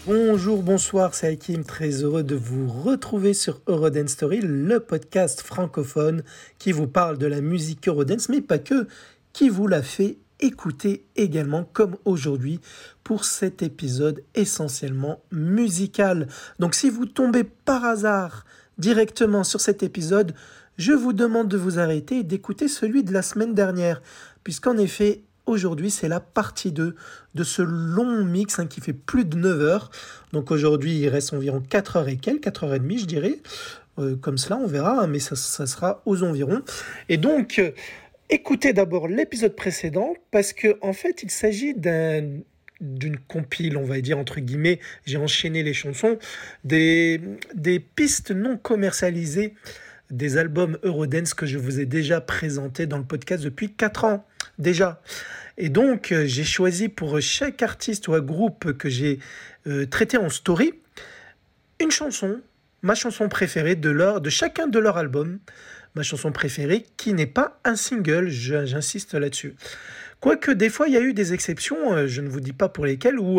Bonjour, bonsoir, c'est Hakim, très heureux de vous retrouver sur Eurodance Story, le podcast francophone qui vous parle de la musique Eurodance, mais pas que, qui vous la fait écouter également, comme aujourd'hui, pour cet épisode essentiellement musical. Donc si vous tombez par hasard directement sur cet épisode, je vous demande de vous arrêter et d'écouter celui de la semaine dernière, puisqu'en effet, aujourd'hui, c'est la partie 2 de ce long mix qui fait plus de 9 heures. Donc aujourd'hui, il reste environ 4 heures et quelques, 4 heures et demie, je dirais. Comme cela, on verra, mais ça sera aux environs. Et donc, écoutez d'abord l'épisode précédent, parce que en fait, il s'agit d'une compile, on va dire, entre guillemets. J'ai enchaîné les chansons, des pistes non commercialisées, des albums Eurodance que je vous ai déjà présentés dans le podcast depuis 4 ans déjà. Et donc, j'ai choisi pour chaque artiste ou groupe que j'ai traité en story, une chanson, ma chanson préférée de chacun de leurs albums, ma chanson préférée qui n'est pas un single, j'insiste là-dessus. Quoique des fois, il y a eu des exceptions, je ne vous dis pas pour lesquelles, où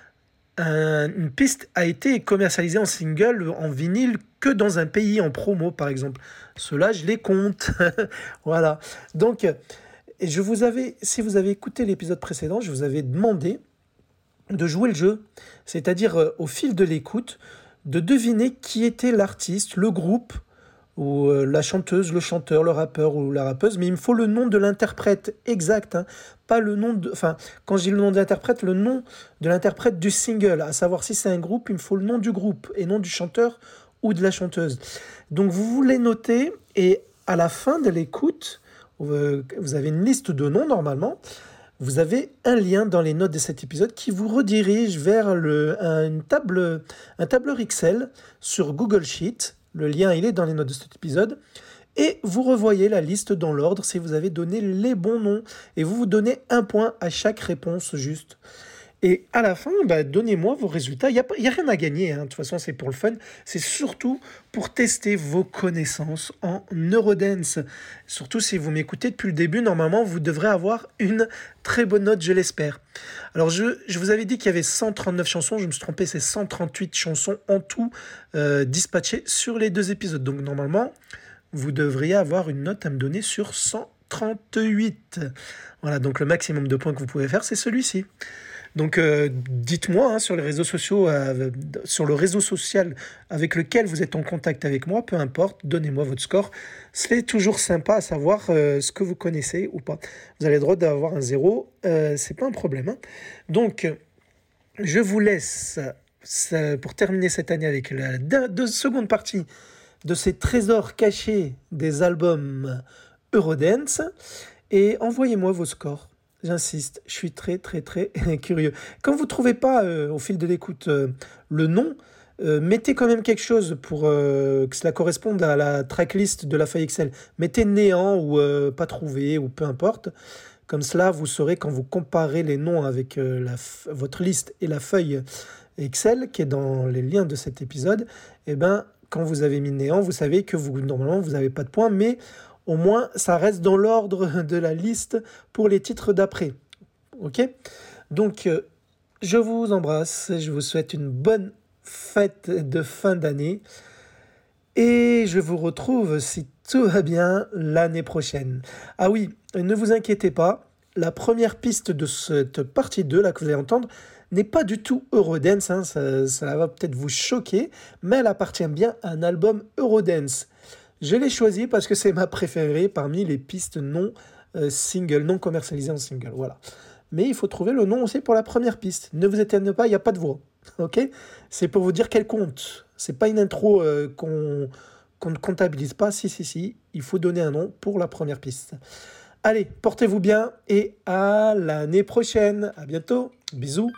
une piste a été commercialisée en single, en vinyle, que dans un pays en promo, par exemple. Ceux-là, je les compte. Voilà. Donc, et si vous avez écouté l'épisode précédent, je vous avais demandé de jouer le jeu, c'est-à-dire au fil de l'écoute, de deviner qui était l'artiste, le groupe, ou la chanteuse, le chanteur, le rappeur ou la rappeuse, mais il me faut le nom de l'interprète exact, pas le nom de... Enfin, quand je dis le nom de l'interprète, le nom de l'interprète du single, à savoir si c'est un groupe, il me faut le nom du groupe, et non du chanteur ou de la chanteuse. Donc vous voulez noter, et à la fin de l'écoute, vous avez une liste de noms normalement. Vous avez un lien dans les notes de cet épisode qui vous redirige vers un tableur Excel sur Google Sheet. Le lien, il est dans les notes de cet épisode. Et vous revoyez la liste dans l'ordre si vous avez donné les bons noms. Et vous donnez un point à chaque réponse juste. Et à la fin, donnez-moi vos résultats. Il y a rien à gagner, De toute façon, c'est pour le fun. C'est surtout pour tester vos connaissances en Eurodance. Surtout si vous m'écoutez depuis le début, normalement, vous devrez avoir une très bonne note, je l'espère. Alors, je vous avais dit qu'il y avait 139 chansons. Je me suis trompé, c'est 138 chansons en tout dispatchées sur les 2 épisodes. Donc, normalement, vous devriez avoir une note à me donner sur 138. Voilà, donc le maximum de points que vous pouvez faire, c'est celui-ci. Donc dites-moi sur les réseaux sociaux, sur le réseau social avec lequel vous êtes en contact avec moi, peu importe, donnez-moi votre score. C'est toujours sympa à savoir ce que vous connaissez ou pas. Vous avez le droit d'avoir un 0, c'est pas un problème. Donc je vous laisse pour terminer cette année avec la seconde partie de ces trésors cachés des albums Eurodance et envoyez-moi vos scores. J'insiste, je suis très très très curieux. Quand vous ne trouvez pas au fil de l'écoute le nom, mettez quand même quelque chose pour que cela corresponde à la tracklist de la feuille Excel. Mettez néant ou pas trouvé ou peu importe. Comme cela, vous saurez quand vous comparez les noms avec votre liste et la feuille Excel qui est dans les liens de cet épisode, quand vous avez mis néant, vous savez que normalement vous n'avez pas de points, mais au moins ça reste dans l'ordre de la liste pour les titres d'après. Ok ? Donc je vous embrasse, je vous souhaite une bonne fête de fin d'année et je vous retrouve, si tout va bien, l'année prochaine. Ah oui, ne vous inquiétez pas, la première piste de cette partie 2 là que vous allez entendre n'est pas du tout Eurodance, ça va peut-être vous choquer, mais elle appartient bien à un album Eurodance. Je l'ai choisi parce que c'est ma préférée parmi les pistes non single, non commercialisées en single, voilà. Mais il faut trouver le nom aussi pour la première piste. Ne vous étonnez pas, il n'y a pas de voix, ok ? C'est pour vous dire qu'elle compte. C'est pas une intro qu'on ne comptabilise pas. Si, il faut donner un nom pour la première piste. Allez, portez-vous bien et à l'année prochaine. À bientôt. Bisous.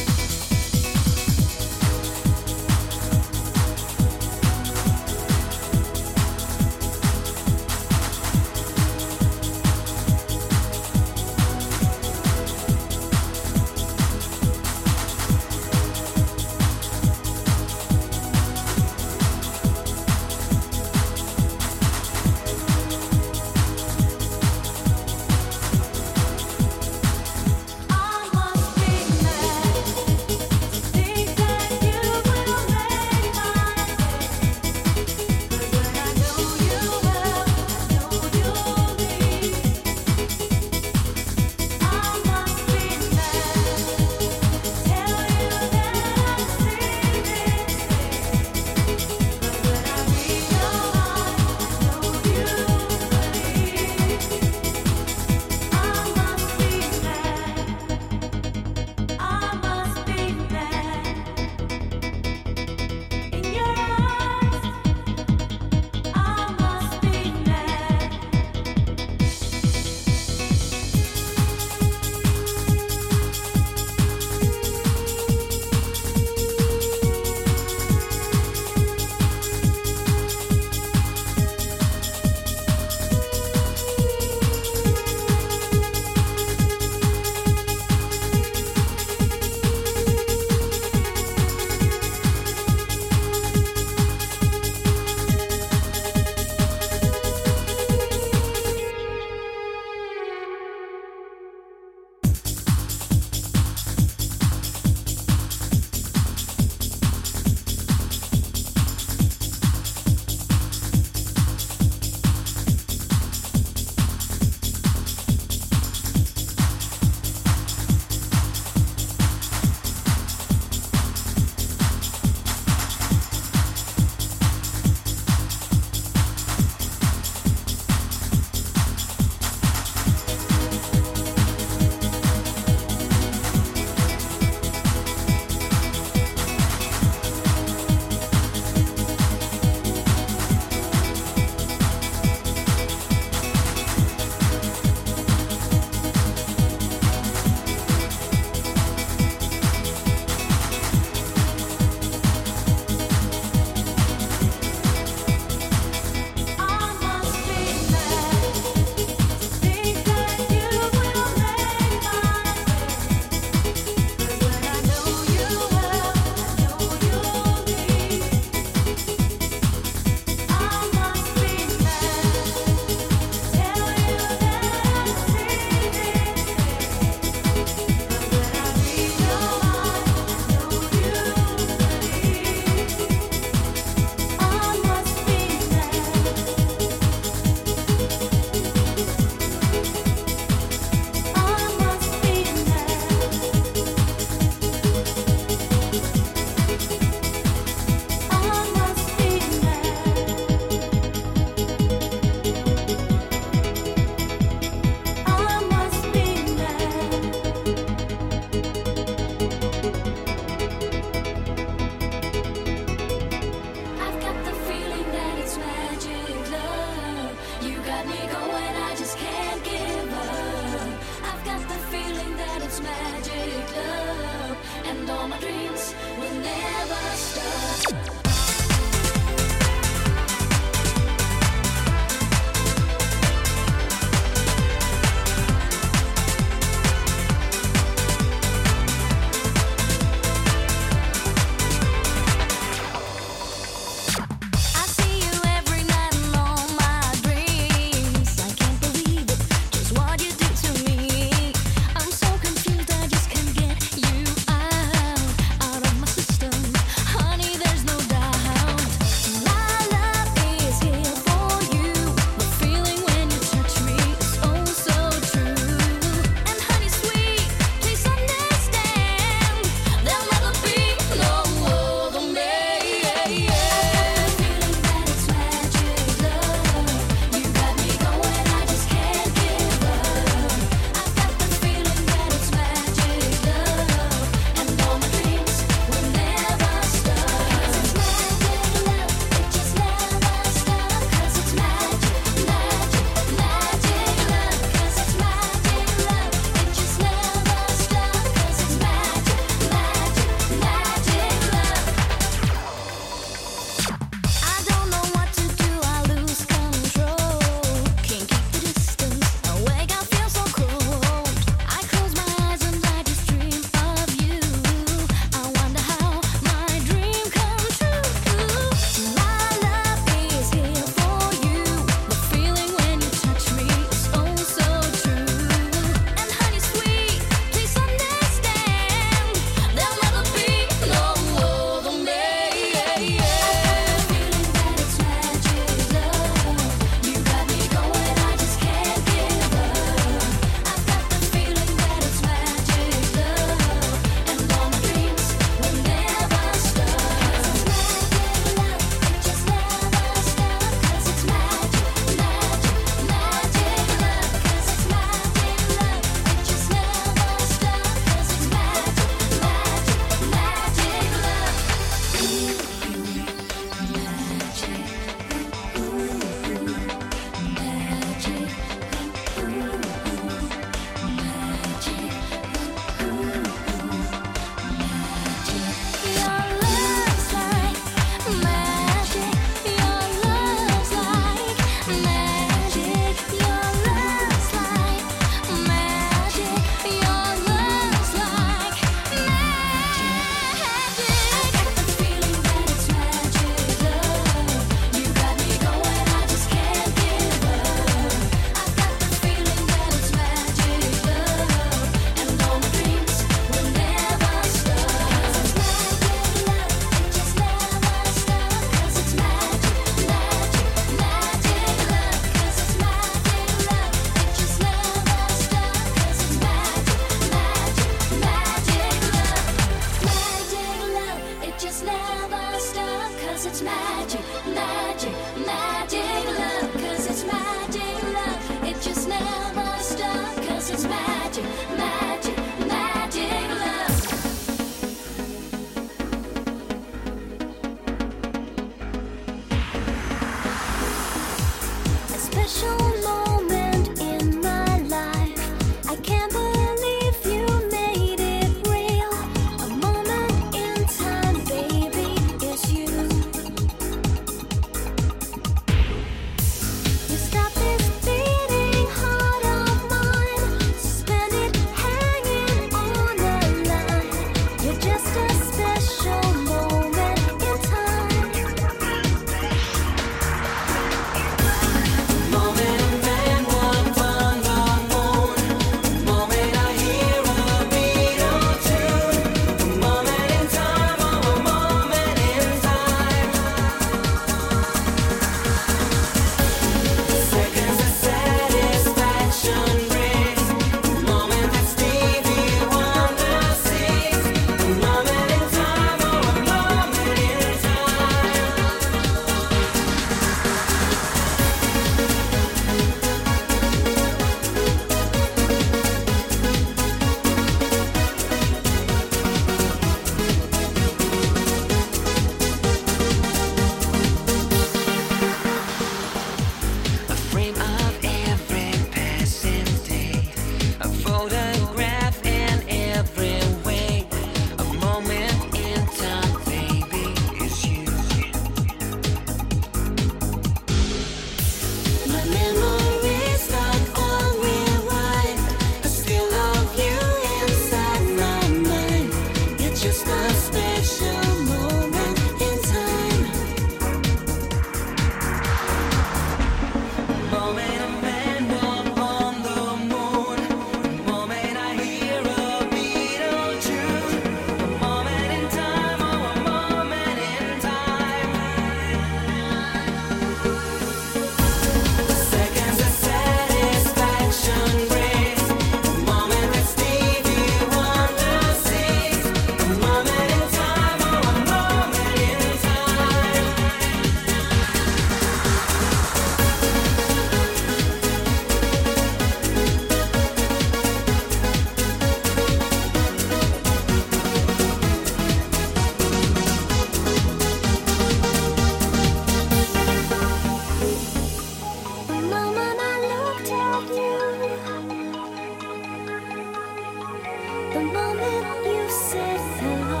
said hello.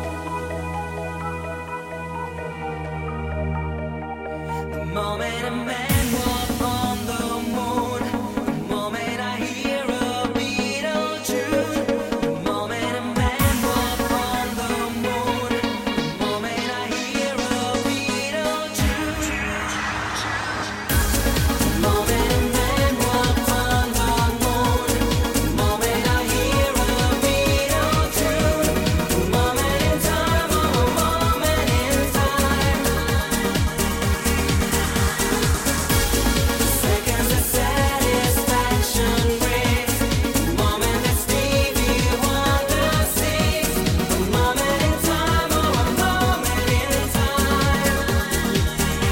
The moment a man walked on the moon, the moment I hear a Beatle tune, the moment a man walked on the moon, the moment I hear a Beatle tune, the moment a man walked on the moon, the moment I hear a Beatle tune, the moment in time, oh, a moment in time. Seconds of satisfaction brings the moment that Stevie Wonder sings. A moment in time, oh, a moment in time.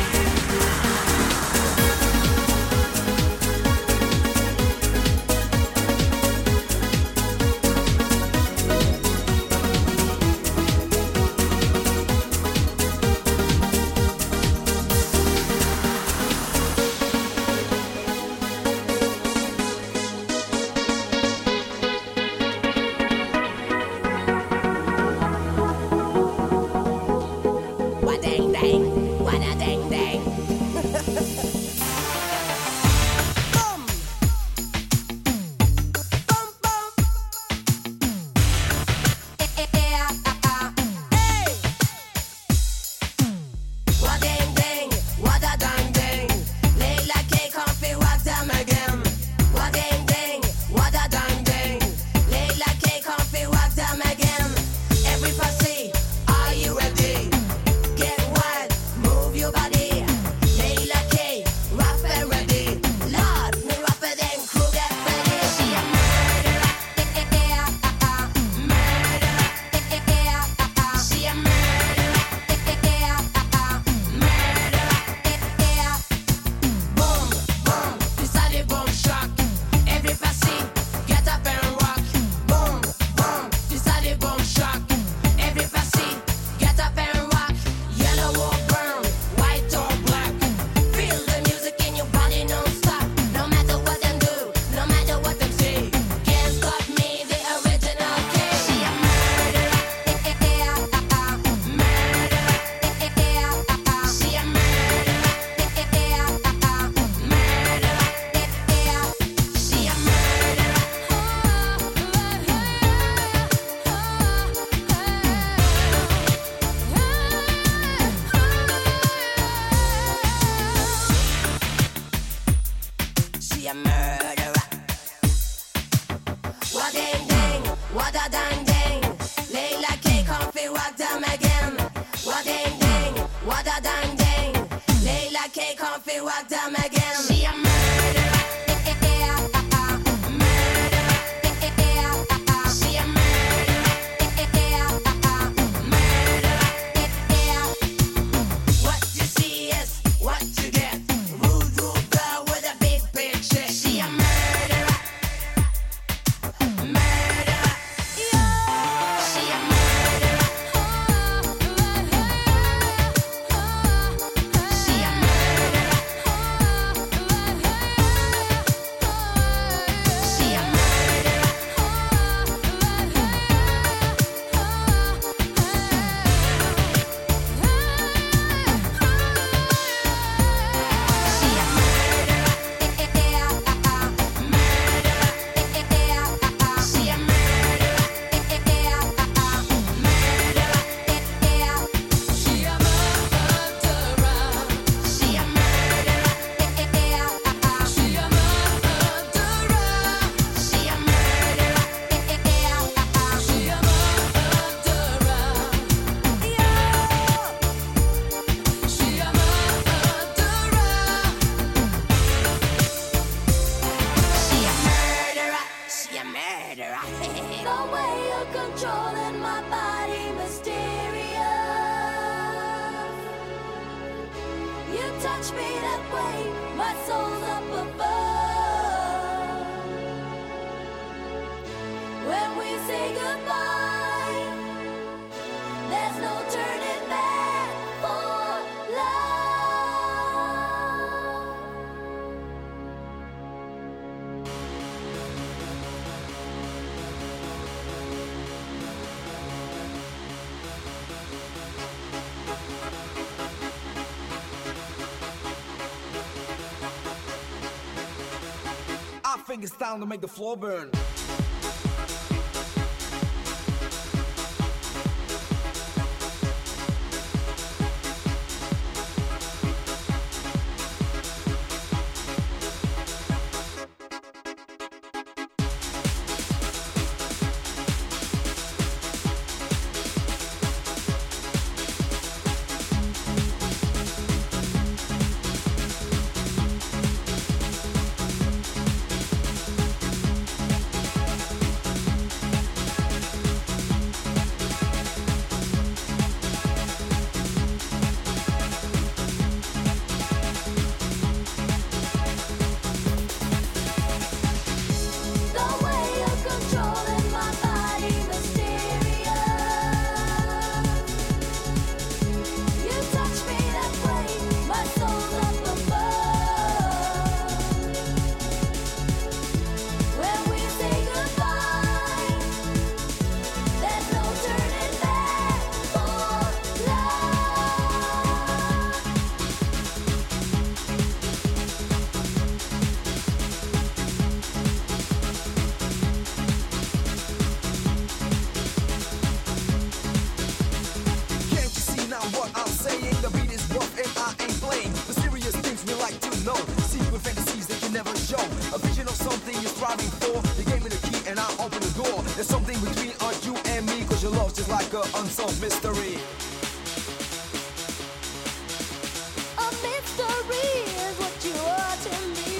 What dang dang, what a dang dang. Boom, boom, boom. Hey. What dang dang, what a dang dang. Layla K can't walk them again. What dang dang, what a dang dang. Layla K can't walk them again. Every pussy, are you ready? Get wild, move your body. Layla K, rough and ready. Lord, me rougher than Kruger Freddy. She a murderer, murderer. She a murderer, murderer. Boom, boom, this a the boom shock. Every pussy, get up and rock. Boom, boom, this a the boom shock. Every pussy, get up and rock. Yellow or brown, white or black. Feel the music in your body non-stop. No matter what them do, no matter what them say. Can't stop me, the original K. She a murderer, murderer. She a murderer, murderer. She a She a murderer. What dang dang, what a dang dang. Layla K can't feel walk them again. What dang dang, what a dang dang. Layla K can't feel walk them again. She a murderer. Murderer. She a murderer. Murderer. What you see is what you get. Rude, rude girl with a big picture. She a murderer. Murderer. She a murderer. She a murderer. She a murderer. The way you're controlling my body, mysterious. You touch me that way, my soul's up above. When we say goodbye, there's no turning back for love. think it's time to make the floor burn. Unsolved mystery. A mystery is what you are to me.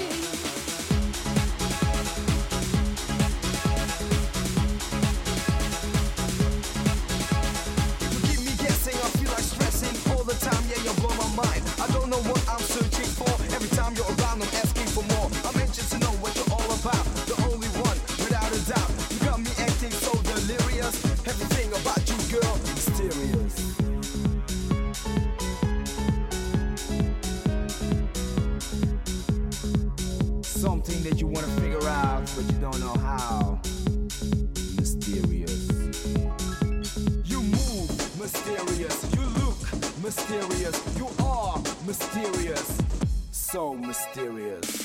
You keep me guessing, I feel like stressing all the time. Yeah, you blow my mind. I don't know what I'm searching for. Every time you're around, I'm asking for more. I'm anxious to know what you're all about. The only one, without a doubt. You got me acting so delirious. Everything about you, girl, mysterious. Something that you want to figure out, but you don't know how. Mysterious. You move, mysterious. You look, mysterious. You are mysterious. So mysterious.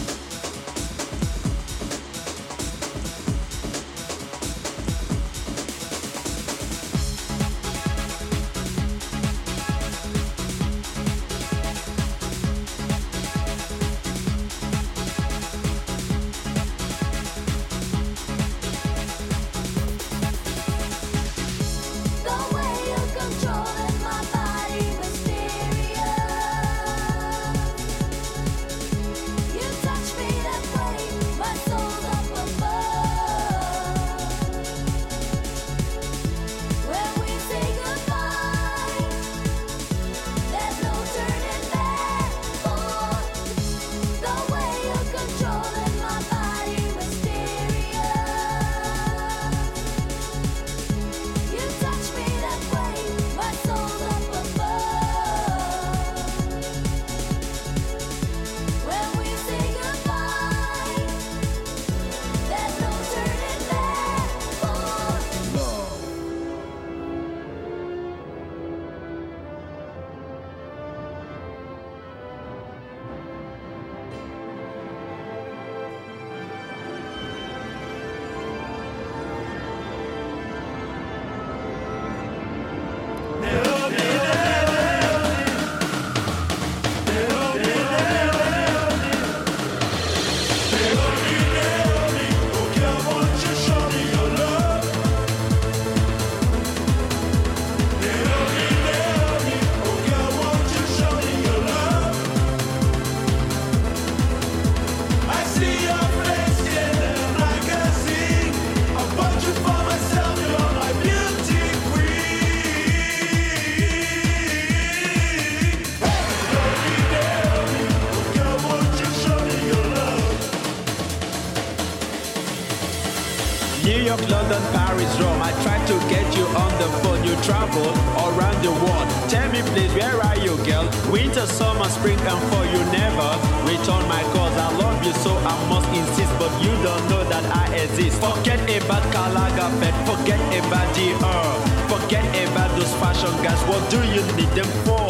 York, London, Paris, Rome. I tried to get you on the phone. You travel around the world. Tell me please, where are you, girl? Winter, summer, spring and fall. You never return my calls. I love you so I must insist, but you don't know that I exist. Forget about Karl Lagerfeld. Forget about Dior. Forget about those fashion guys. What do you need them for?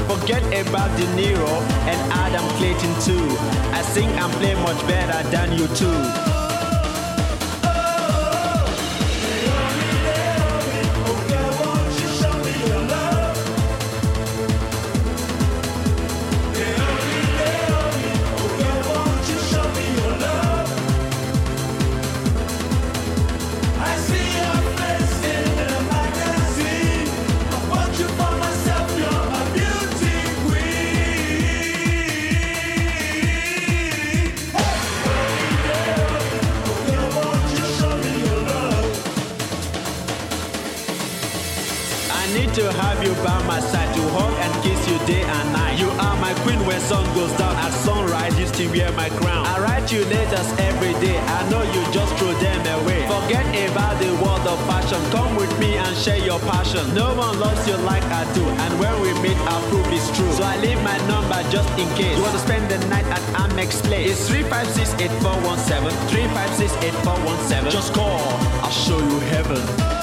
Forget about De Niro and Adam Clayton too. I sing and play much better than you too. To have you by my side, to hug and kiss you day and night. You are my queen when sun goes down, at sunrise you still wear my crown. I write you letters every day, I know you just throw them away. Forget about the world of fashion, come with me and share your passion. No one loves you like I do, and when we meet I'll prove it's true. So I leave my number just in case you want to spend the night at Amex Place. It's 356-8417, 356-8417. Just call, I'll show you heaven.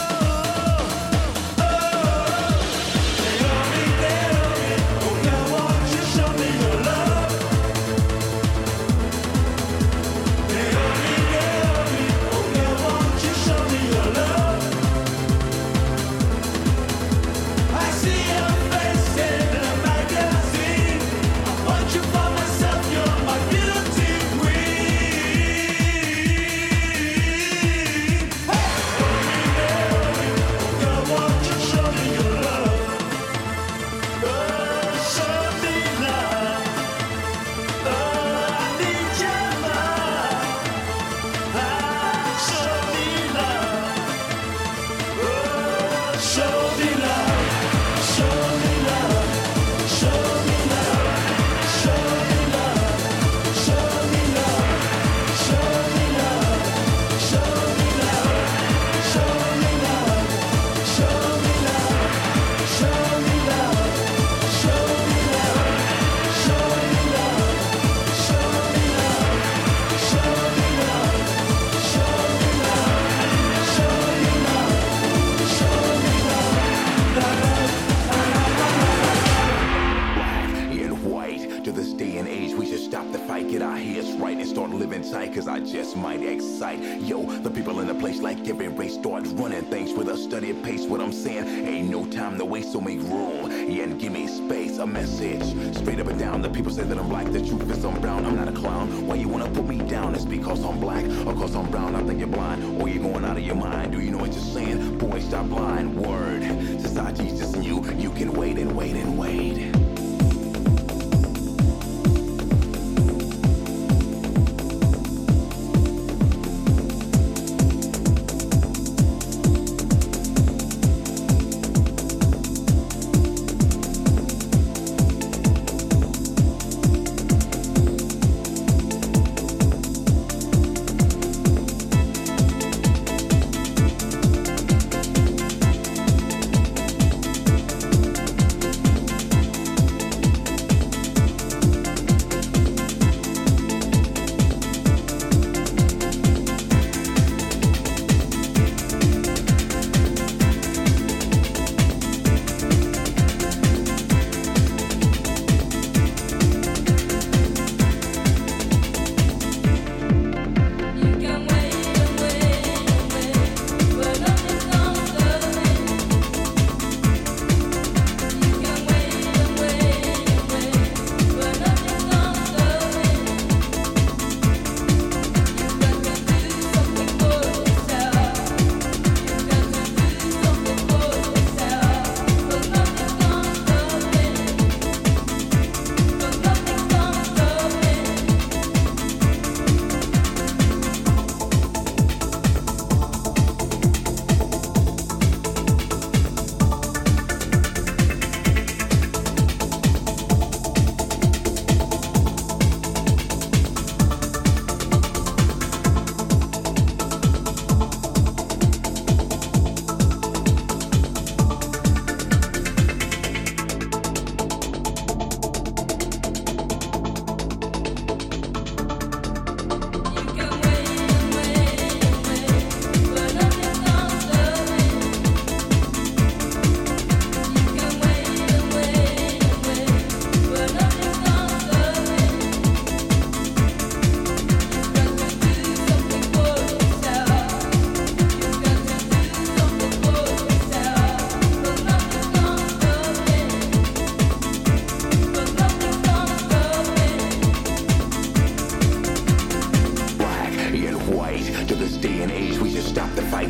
Cause I just might excite. Yo, the people in the place like every race starts running things with a steady pace. What I'm saying, ain't no time to waste, so make room. Yeah, and give me space, a message. Straight up and down, the people say that I'm black. The truth is I'm brown, I'm not a clown. Why you wanna put me down? It's because I'm black, or cause I'm brown. I think you're blind, or you're going out of your mind. Do you know what you're saying? Boy, stop lying. Word, society's just new. You can wait and wait and wait.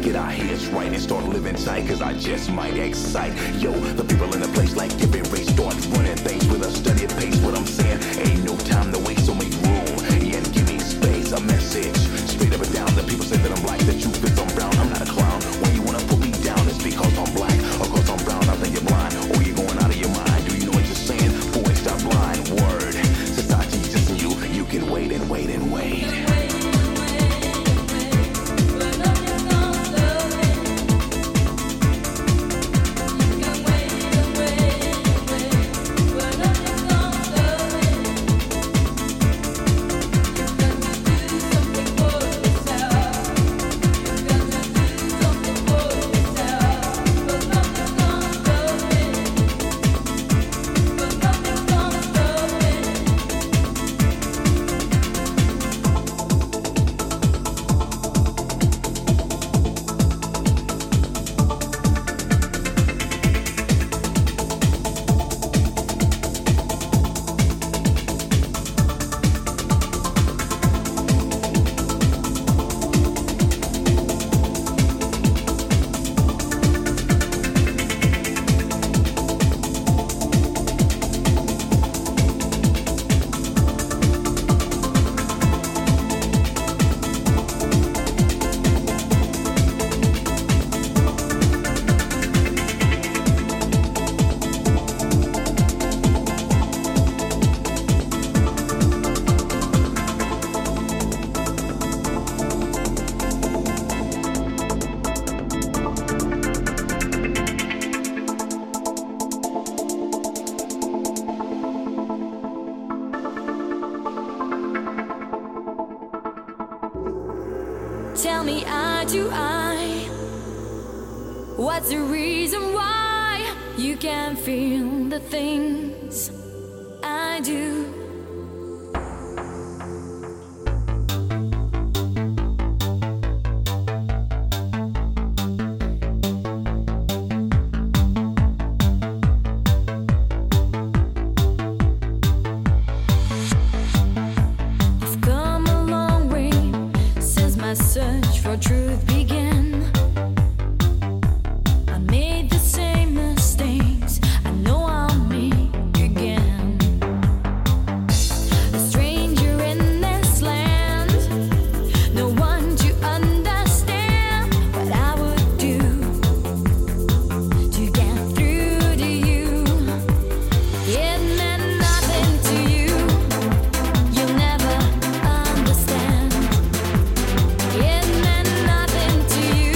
get our heads right and start living tight, cause I just might excite. Yo, the people in the place like every race start running things with a steady pace. What I'm saying, ain't no time to waste, so make room and give me space. A message, straight up and down. The people say that I'm black, the truth is I'm brown. I'm not a clown. When you wanna put me down, it's because I'm black or cause I'm brown. I think you're blind or you're going out of your mind. Do you know what you're saying? Boy, stop blind. Word, society's just you. You can wait and wait and wait. Tell me, eye to eye, what's the reason why you can't feel the things I do? Search for truth began. I made the same mistakes. I know I'll make again. A stranger in this land, no one to understand what I would do to get through to you. It meant nothing to you. You'll never understand. It meant nothing to you,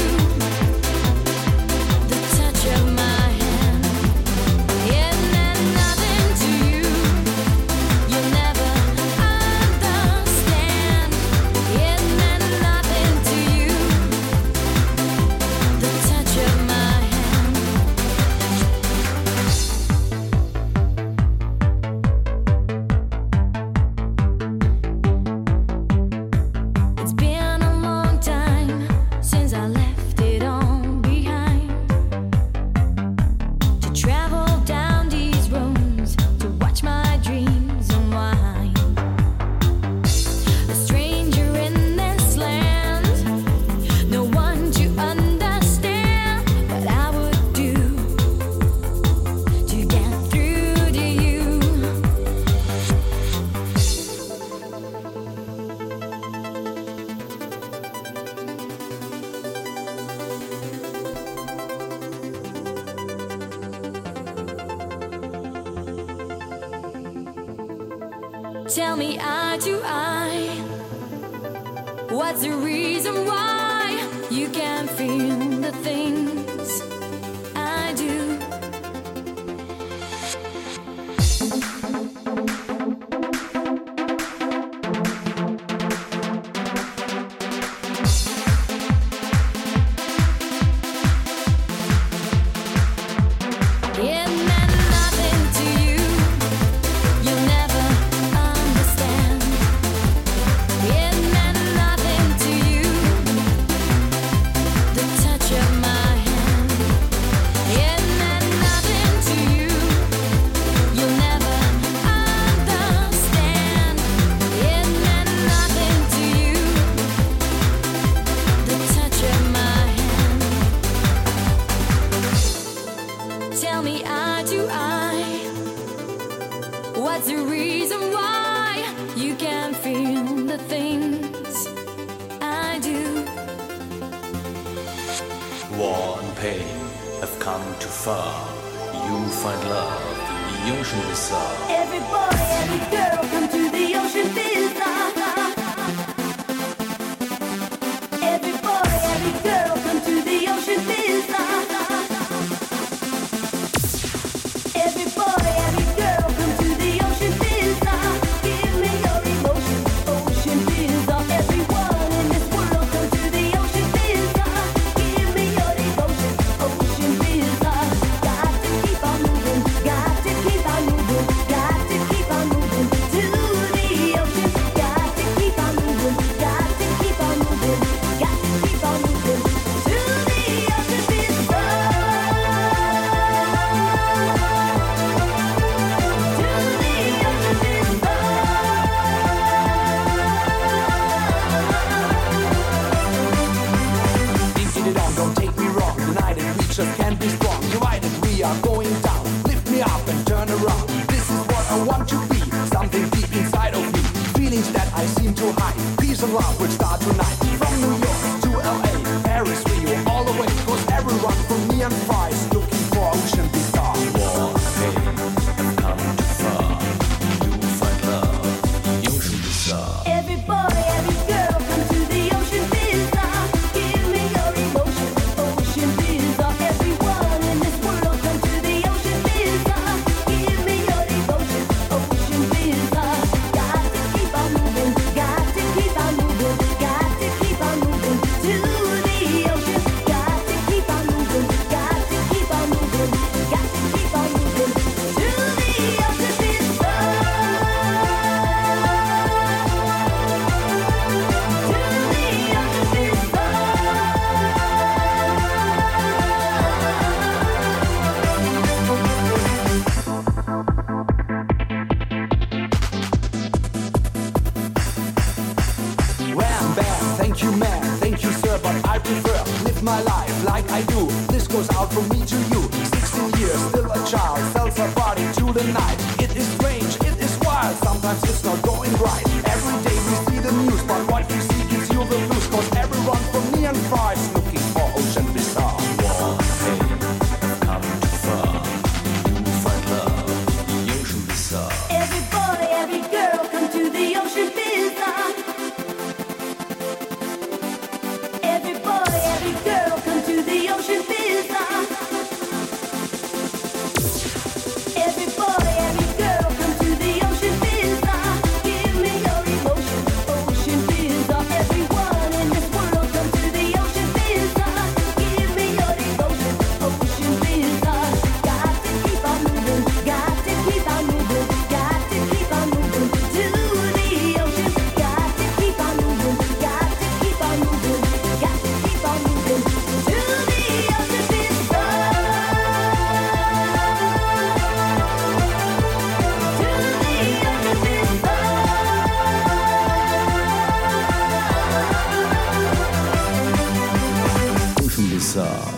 the touch of my hand. It meant nothing to you, you'll never understand. It meant nothing to you, the touch of my hand. It's been a long time since I left it all behind, to travel down these roads, to watch my dreams unwind. A stranger in this land, no one to understand what I would do to get through to you. Tell me, eye to eye, what's the reason why you can't feel the things I do? It meant nothing to you. You'll never understand. It meant nothing to you, the touch War and pain have come too far. You find love in the ocean bizarre. Every boy, every girl, come to the ocean bizarre. Every boy, every girl, come to the ocean bizarre. Every boy, every girl, come to the ocean bizarre. Give me your emotion, ocean bizarre. Everyone in this world, come to the ocean bizarre. Give me your devotion, ocean bizarre. Got to keep on moving, got to keep on moving, got to keep on moving to the ocean. Got to keep on moving, got to keep on moving, got to keep on moving to the ocean bizarre. Don't take me wrong, united we just can't be strong. Divided we are going down, lift me up and turn around. This is what I want to be, something deep inside of me. Feelings that I seem to hide, peace and love will start tonight. From New York to LA, Paris, Rio, all the way. Cause everyone from me and far is looking for ocean bizarre. War and pain have come too far. You find love in the ocean bizarre. Every boy, every girl, come to the ocean bizarre. Give me your emotion, ocean bizarre. Everyone in this world, come to the ocean bizarre. Give me your devotion, ocean bizarre. Got to keep on moving, got to keep on moving, got to keep on moving to the ocean. Got to keep on moving, got to keep on moving, got to keep on moving to the ocean bizarre. Wham, bam, thank you man, thank you sir, but I prefer live my life like I do. This goes out from me to you. 16 years, still a child, sells her body to the night. It is strange, it is wild, sometimes it's not going right. Every day we see the news, but what you see gives you the blues. Cause everyone from me and far is looking for ocean bizarre. War and pain have come too far. You find love in the ocean bizarre. Every boy, every girl, come to the ocean bizarre. Every boy, every girl, come to the ocean bizarre. Every boy, every girl, come to the ocean bizarre. Give me your emotion, ocean bizarre. Everyone in this world, come to the ocean bizarre. Give me your devotion, ocean bizarre. Got to keep on moving, got to keep on moving, got to keep on moving to the ocean. Got to keep on moving, got to keep on moving, got to keep on moving to the ocean bizarre. Ocean bizarre.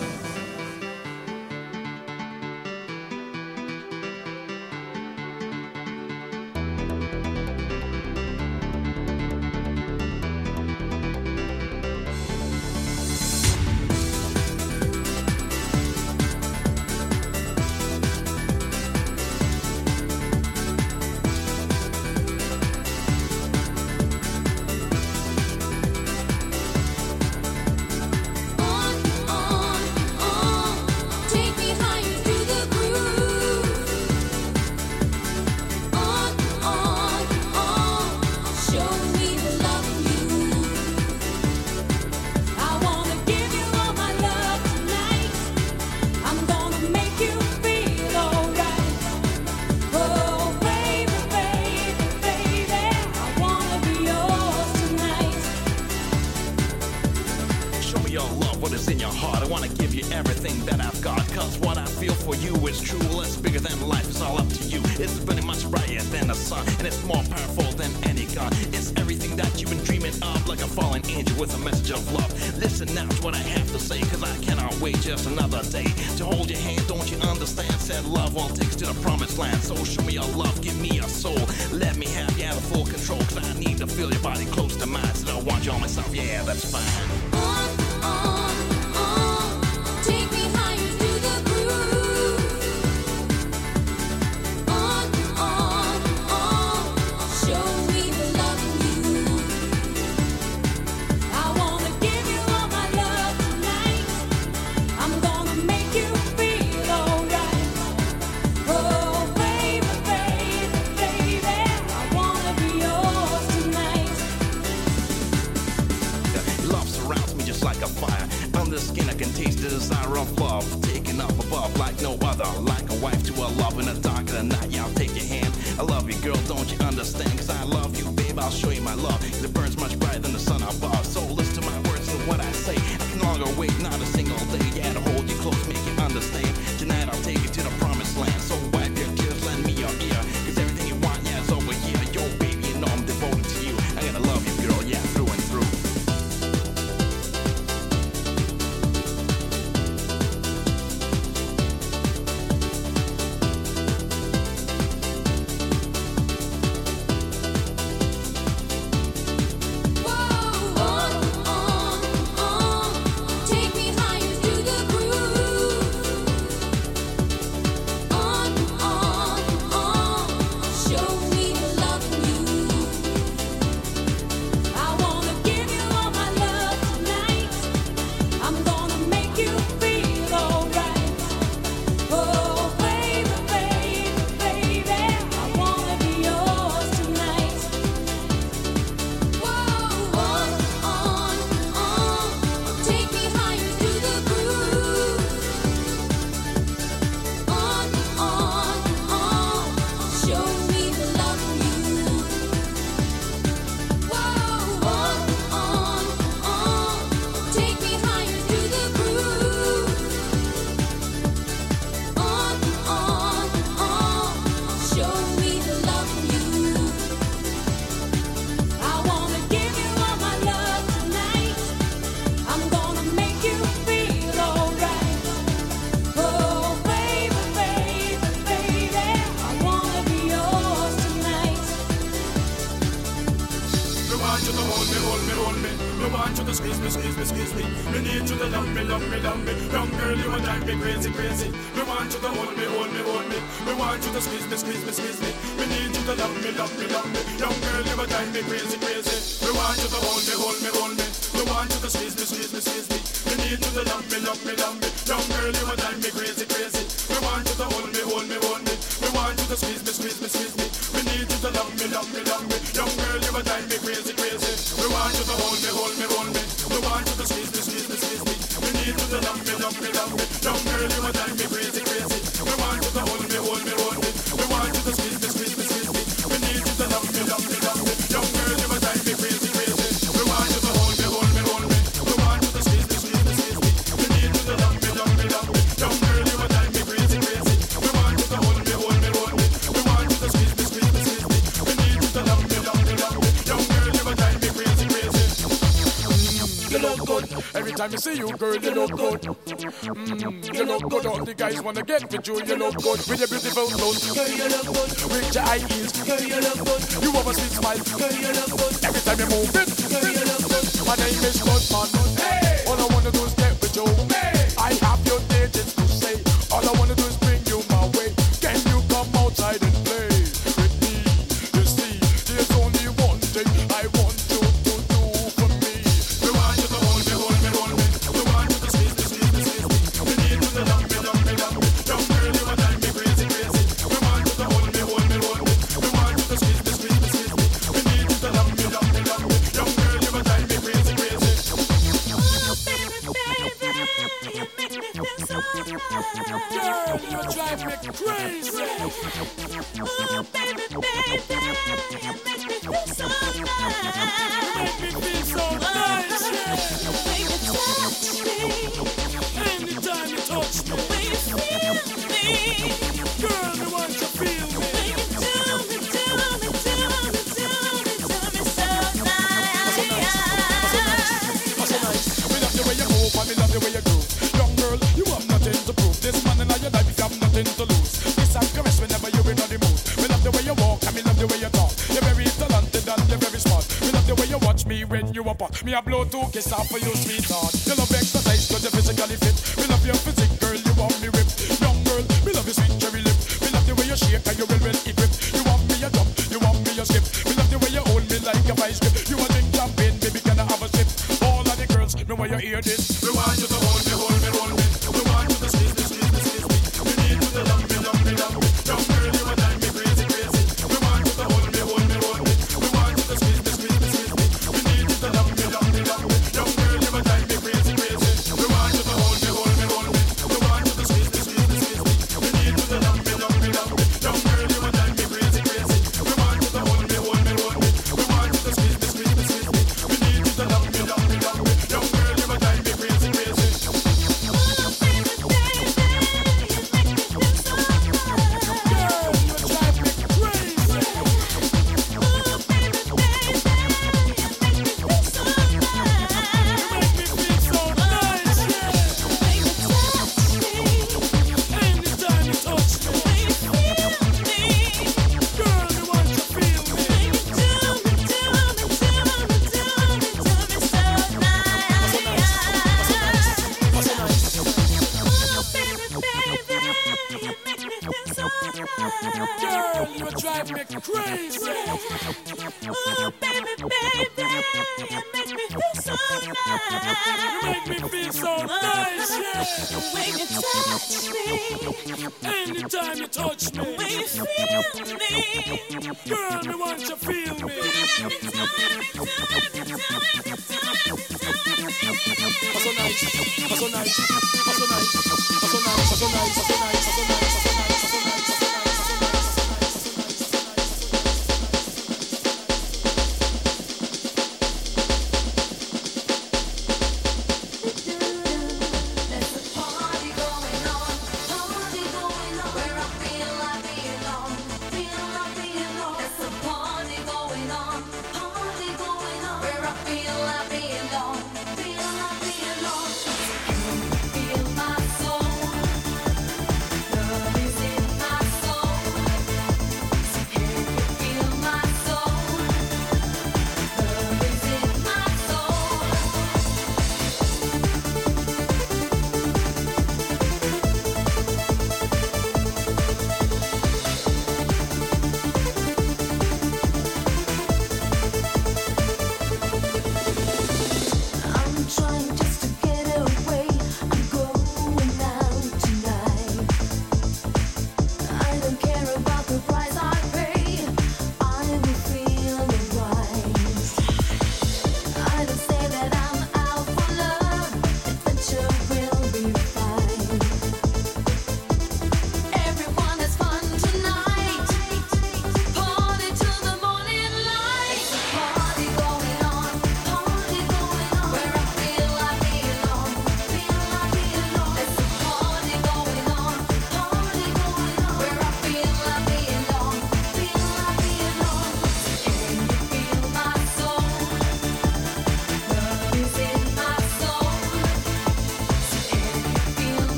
Take me higher through the groove. On, show me the love you. I wanna give you all my love tonight. I'm gonna make you feel alright. Oh baby, baby, baby, I wanna be yours tonight. Show me your love, what is in your heart. I wanna give you everything that I've got. Cause what I feel for you is true. It's bigger than life, it's all up to you. It's very much brighter than the sun, and it's more powerful than any gun. It's everything that you've been dreaming of, like a fallen angel with a message of love. Listen now to what I have to say, cause I cannot wait just another day to hold your hand. Don't you understand? Said love all takes to the promised land. So show me your love, give me your soul. Let me have you out of full control, cause I need to feel your body close to mine. So I want you all myself, yeah, that's fine. On, I can taste the desire of love, taking up above like no other, like a wife to a love in the dark of the night. Yeah, I'll take your hand. I love you, girl, don't you understand? Cause I love you, babe, I'll show you my love. Cause it burns much brighter than the sun above. So listen to my words and what I say. I can no longer wait, not a single day. Yeah, to hold you close, make you understand. Tonight I'll take you to the promised land. So wipe your tears, lend me your ear. Cause everything you want, yeah, is over here. Yo, baby, you know I'm devoted to you. I'm gonna love you, girl, yeah, through and through. Time you see you, girl, you look good. You look good. All the guys wanna get with you. You look good with your beautiful clothes. Girl, you look good. With your high heels. Girl, you look good. You have a sweet smile. Girl, you look good. Every time you move it. Girl, you look good. My name is Goodman. Hey. All I wanna do is get with you. Hey. I have your digits to say. All I wanna do is bring you my way. Can you come outside and play with me? You see, there's only one thing I want you to do for me. We want you to hold me, hold me, hold me. We want you to squeeze me, squeeze me, squeeze me. We need you to love me, love me, love me. Young girl, you a drive me crazy, crazy. We want you to hold me, hold me, hold me. We want you to squeeze me, squeeze me, squeeze me. We need you to love me, love me, love me. Young girl, you a drive me crazy, crazy. Oh, baby, baby, you make me feel so high. Girl, you drive me crazy. Oh, baby, baby, you make me feel so high. Make me feel so nice. Baby, touch me. Anytime you touch me, When you feel me. girl, you want to feel me. When you do me, do me, do me, do me, do me so nice. So nice. We love the way you move and we love the way you groove. Young girl, you have nothing to prove. This man in your life, you have nothing to lose. Kiss and caress whenever you're in the mood. We love the way you walk and we love the way you talk. You're very talented and you're very smart. We love the way you watch me when you apart. Me a blow two kiss off for you, sweetheart. You love exercise cause you're physically fit. We love your physique, girl, you want me ripped. Young girl, we love your sweet cherry lip. We love the way you shake and you well equipped. You want me a jump, you want me a skip. We love the way you hold me like a vice grip. You a drink champagne, baby, can I have a sip? All of the girls, know why you hear this. We want you to hold me, hold me, hold me. We want you to squeeze me, squeeze me, squeeze me. We need you to love me, love me, love me. Young girl, you a drive me crazy, crazy. We want you to hold me, hold me, hold me. We want you to squeeze me, squeeze me, squeeze me. We need you to love me, love me, love me. Young girl, you a drive me crazy, crazy. We want you to hold Girl, you drive me crazy. Ooh, baby, baby, you make me feel so nice. You make me feel so nice, yeah. When you touch me, Anytime you touch me, when you feel me, girl, me want you to feel me. So nice, so nice, so nice, so nice, so nice, so nice, so nice, so nice, so nice, so nice. Feel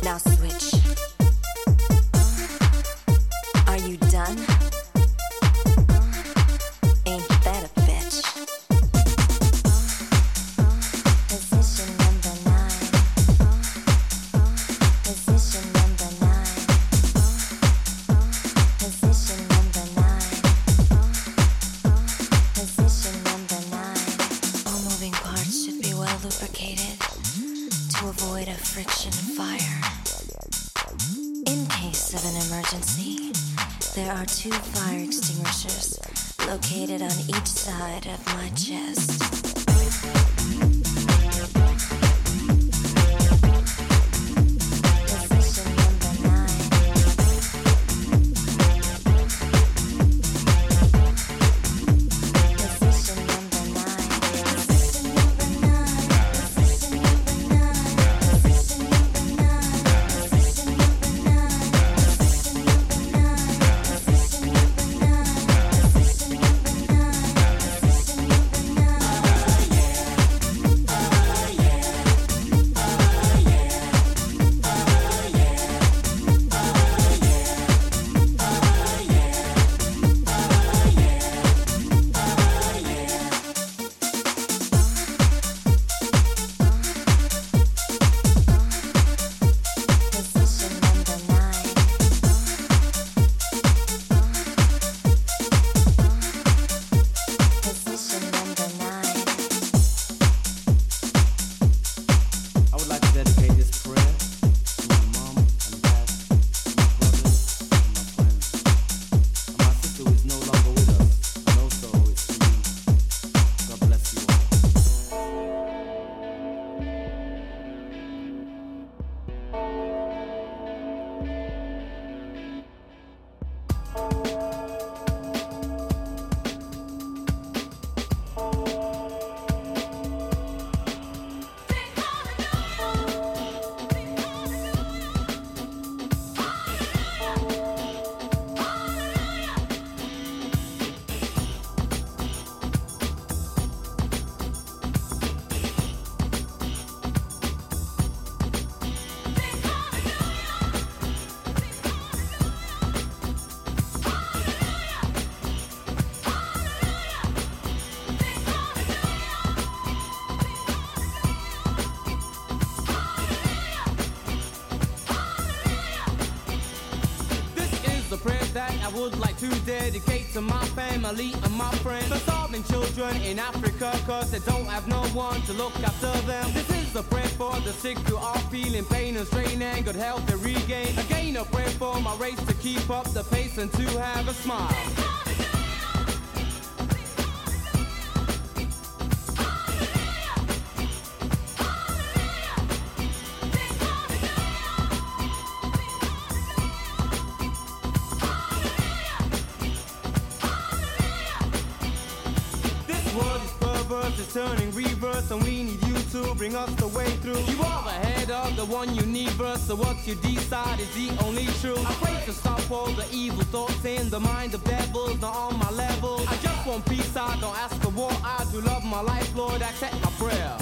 Now switch. Are you done? Ain't that a bitch? Position number 9. Position number 9. Position number 9. Position number 9. All moving parts should be well lubricated to avoid a friction fire. In case of an emergency, there are 2 fire extinguishers located on each side of my chest. Position number 9. Position number 9. Position number 9. Position number 9. Position number 9. Position number 9. Position number 9. Position number 9. Position number 9. Position number would like to dedicate to my family and my friends, the starving children in Africa, cause they don't have no one to look after them. This is a prayer for the sick who are feeling pain and strain and good health to regain. Again a prayer for my race to keep up the pace and to have a smile. Is turning reverse and we need you to bring us the way through. You are ahead of the one universe, so what you decide is the only true. I pray to stop all the evil thoughts in the mind of devils not on my level. I just want peace, I don't ask for war. I do love my life, Lord, accept my prayer.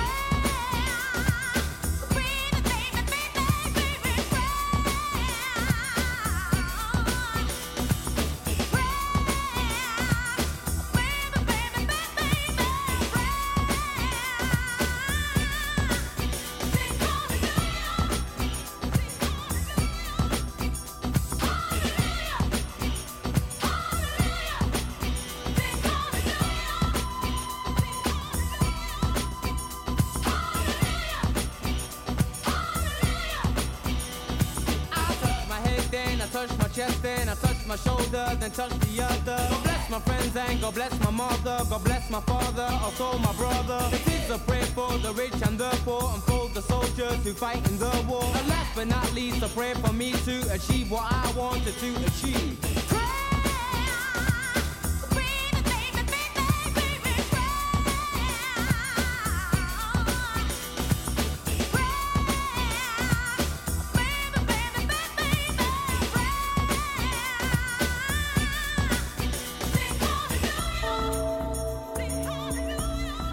Touch my chest, then I touch my shoulder, then touch the other. God bless my friends and God bless my mother, God bless my father, also my brother. This is a prayer for the rich and the poor, and for the soldiers who fight in the war. And last but not least, a prayer for me to achieve what I wanted to achieve.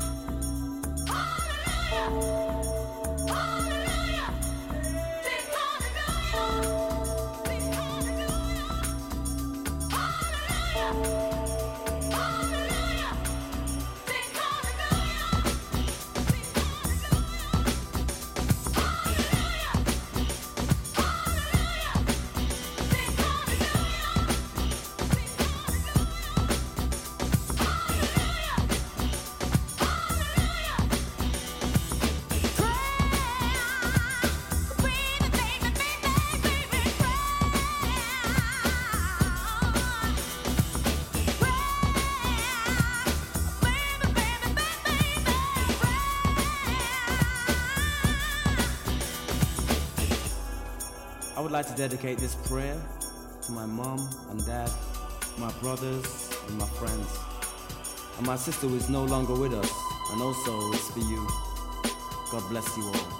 Hallelujah! I would like to dedicate this prayer to my mom and dad, my brothers and my friends, and my sister who is no longer with us, and also it's for you. God bless you all.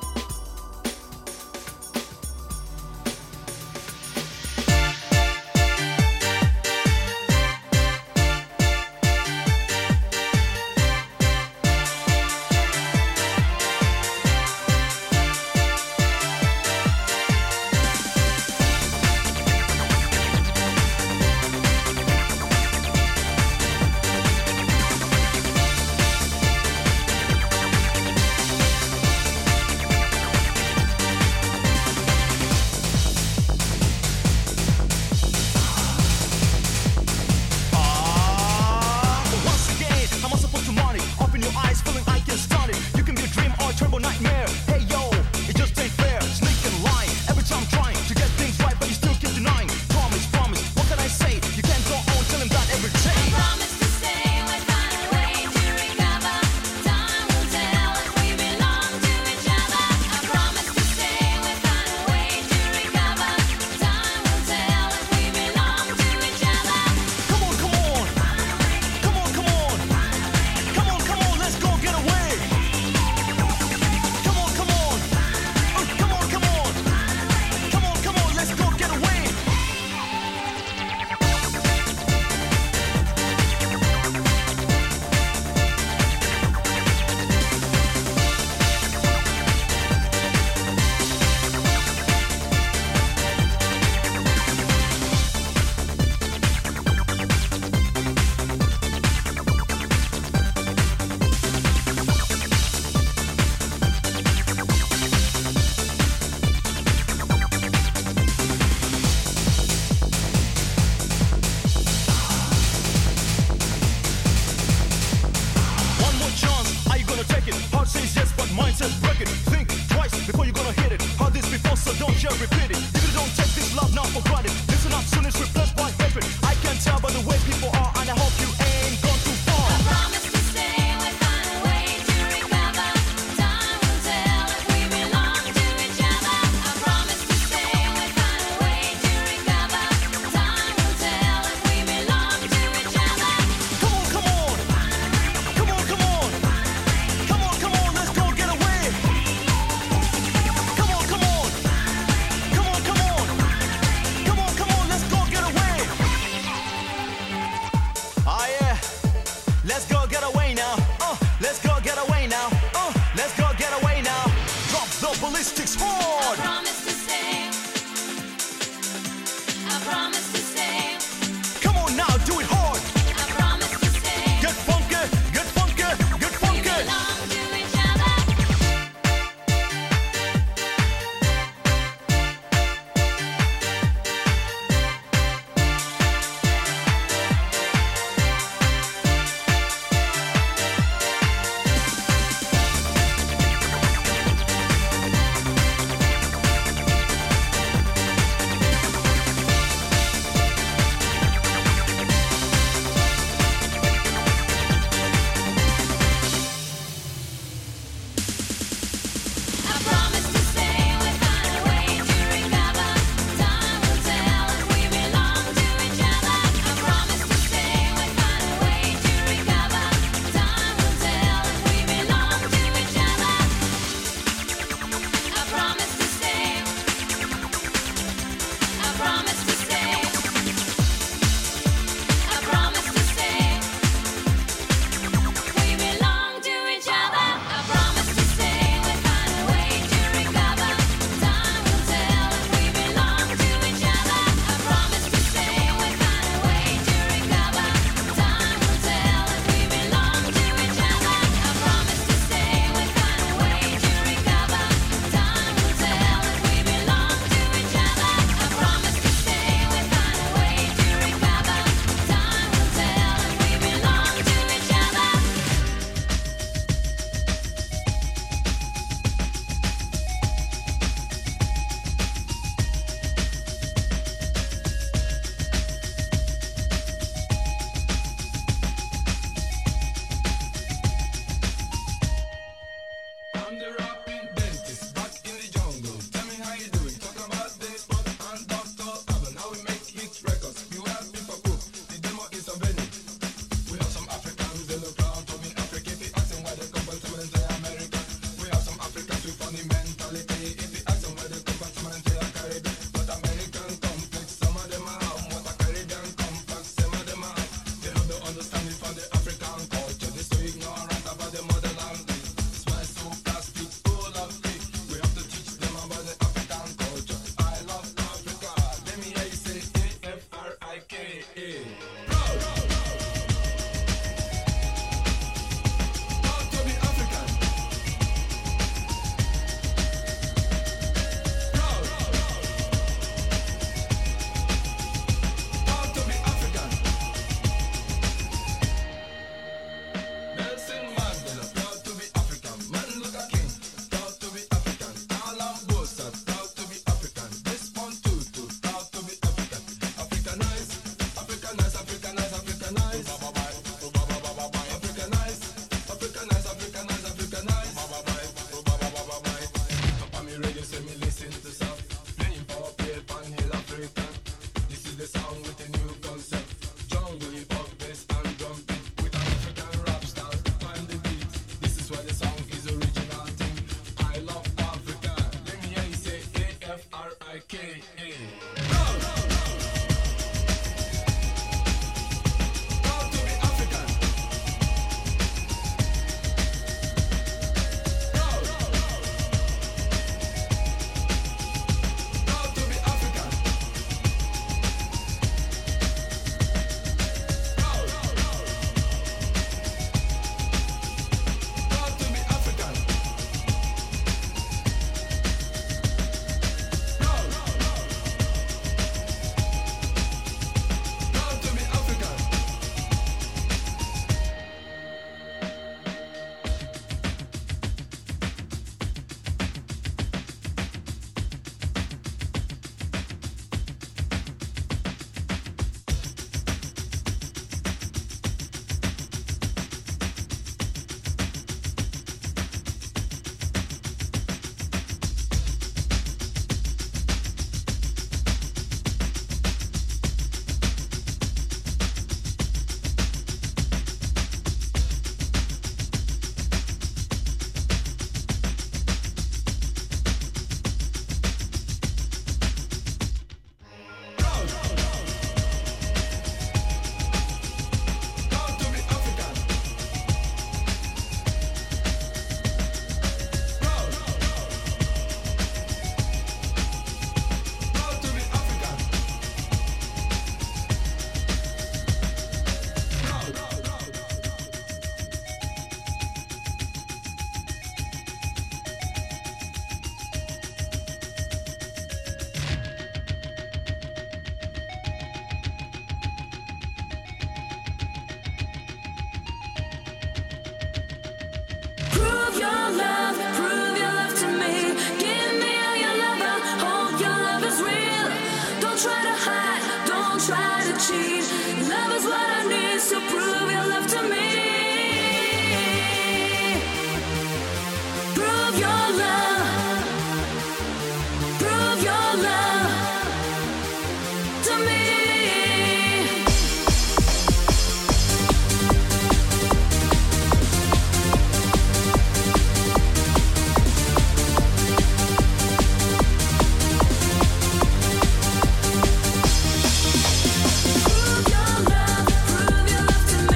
Prove your love to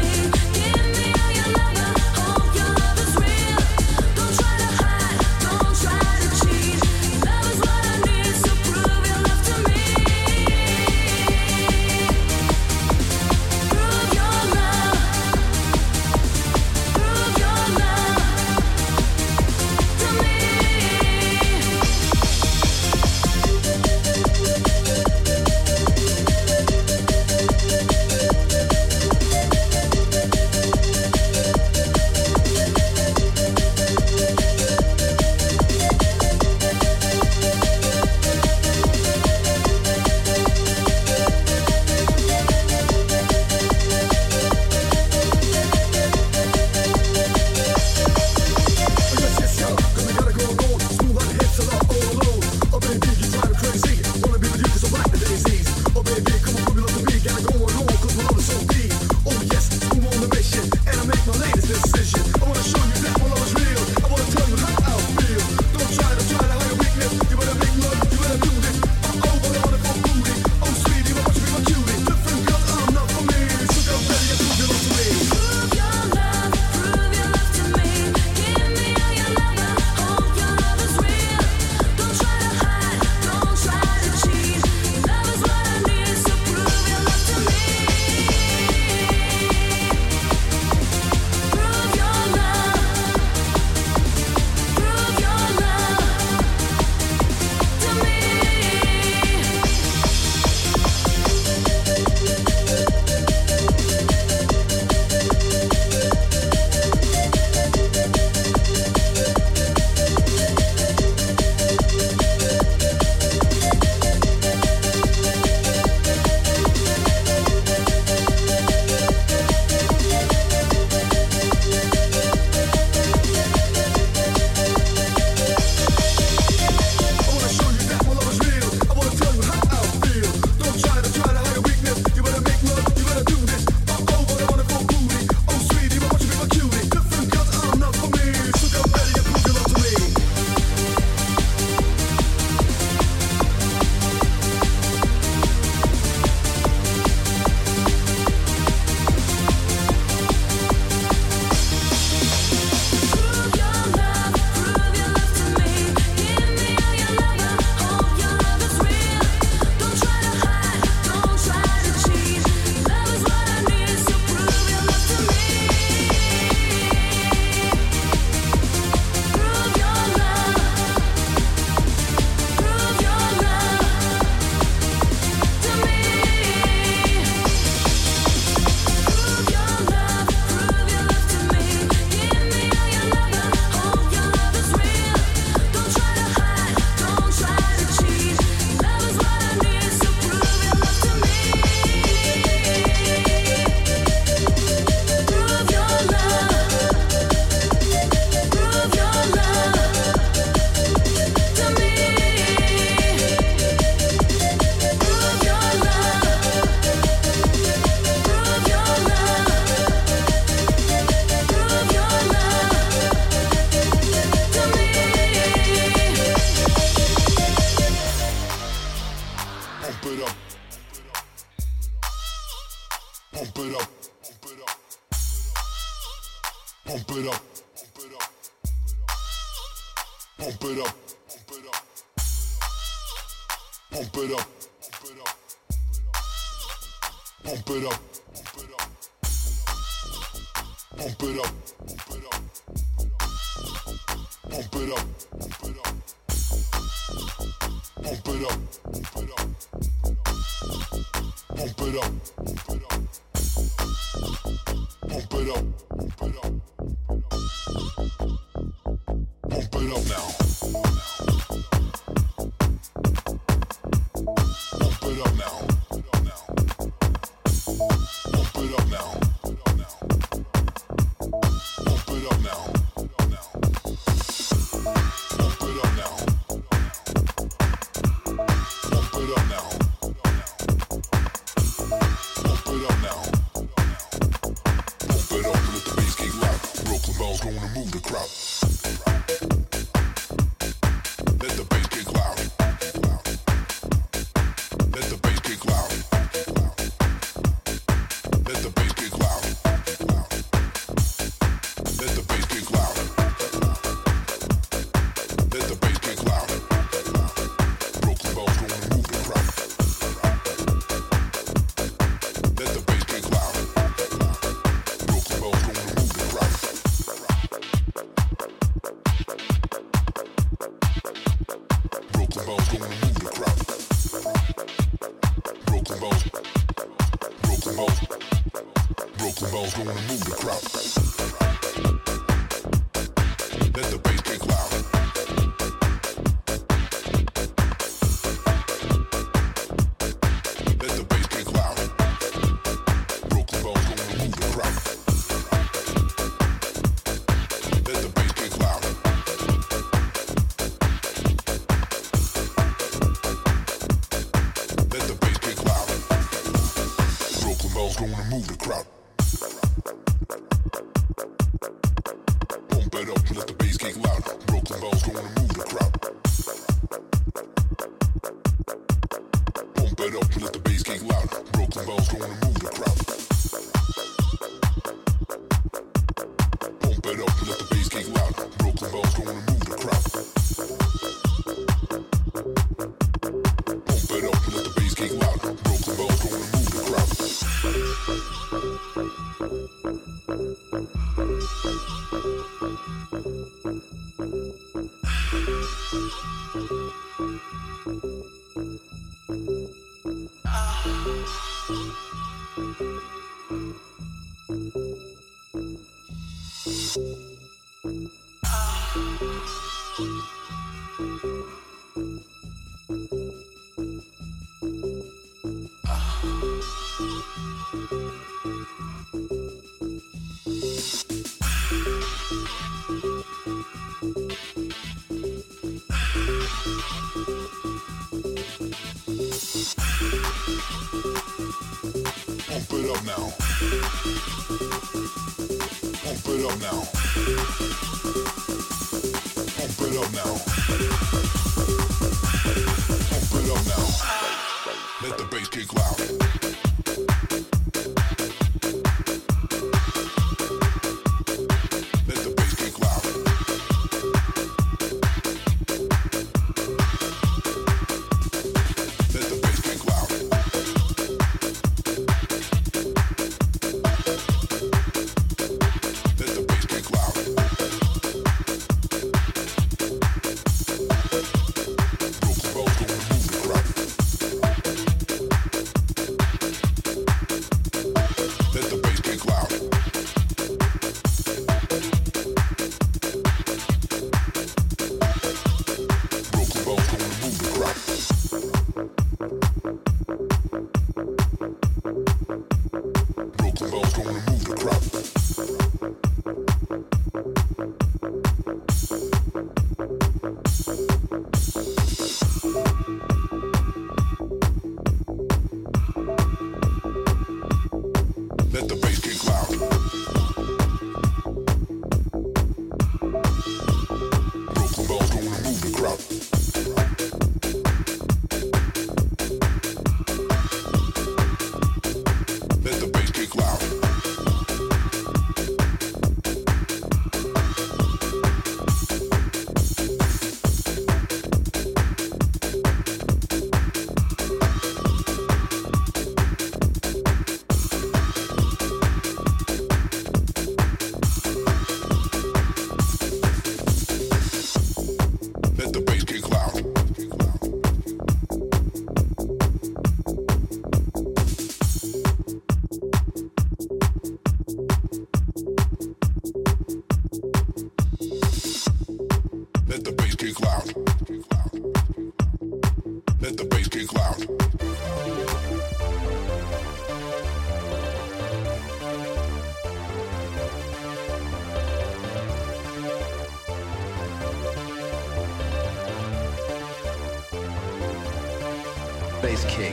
it up, pump it up, pump it up, pump it up, pump it up, pump it up, pump it up, pump it up, pump it up, pump it up, pump it up, pump it up now. Pump it up now. Pump it up now. Pump it up now. Pump it up now. Pump it up now. Pump it up now. Pump it up, let the bass kick loud. Brooklyn balls gonna move the crowd. Let the bass kick loud. Let the bass kick loud. Let the bass kick loud. Let the bass kick loud. Let the bass kick loud. Brooklyn balls gonna move the crowd. Let the bass kick loud. Brooklyn balls gonna move the crowd. Brooklyn balls gonna move the crowd. Brooklyn balls. Brooklyn balls. Brooklyn balls gonna move the crowd. Let the bass kick loud. Let the bass kick loud. Brooklyn balls gonna move the crowd. Let the bass kick loud. Let the bass kick loud. Brooklyn balls gonna move the crowd. Pump it up, let the bass kick loud. Brooklyn balls gonna move the crowd. Pump it up, let the bass kick loud. Brooklyn balls gonna move the crowd. Pump it up, let the bass kick loud. Brooklyn balls gonna move the crowd. Pump it up, let the bass kick loud. Brooklyn balls gonna move the crowd. Pump it up now. Pump it up now. Pump it up now. Pump it up now. Let the bass kick loud. Let the bass kick loud. Let the bass kick loud. Let the bass kick loud. Brooklyn balls gonna move the crowd. Let the bass kick loud. Bass kick.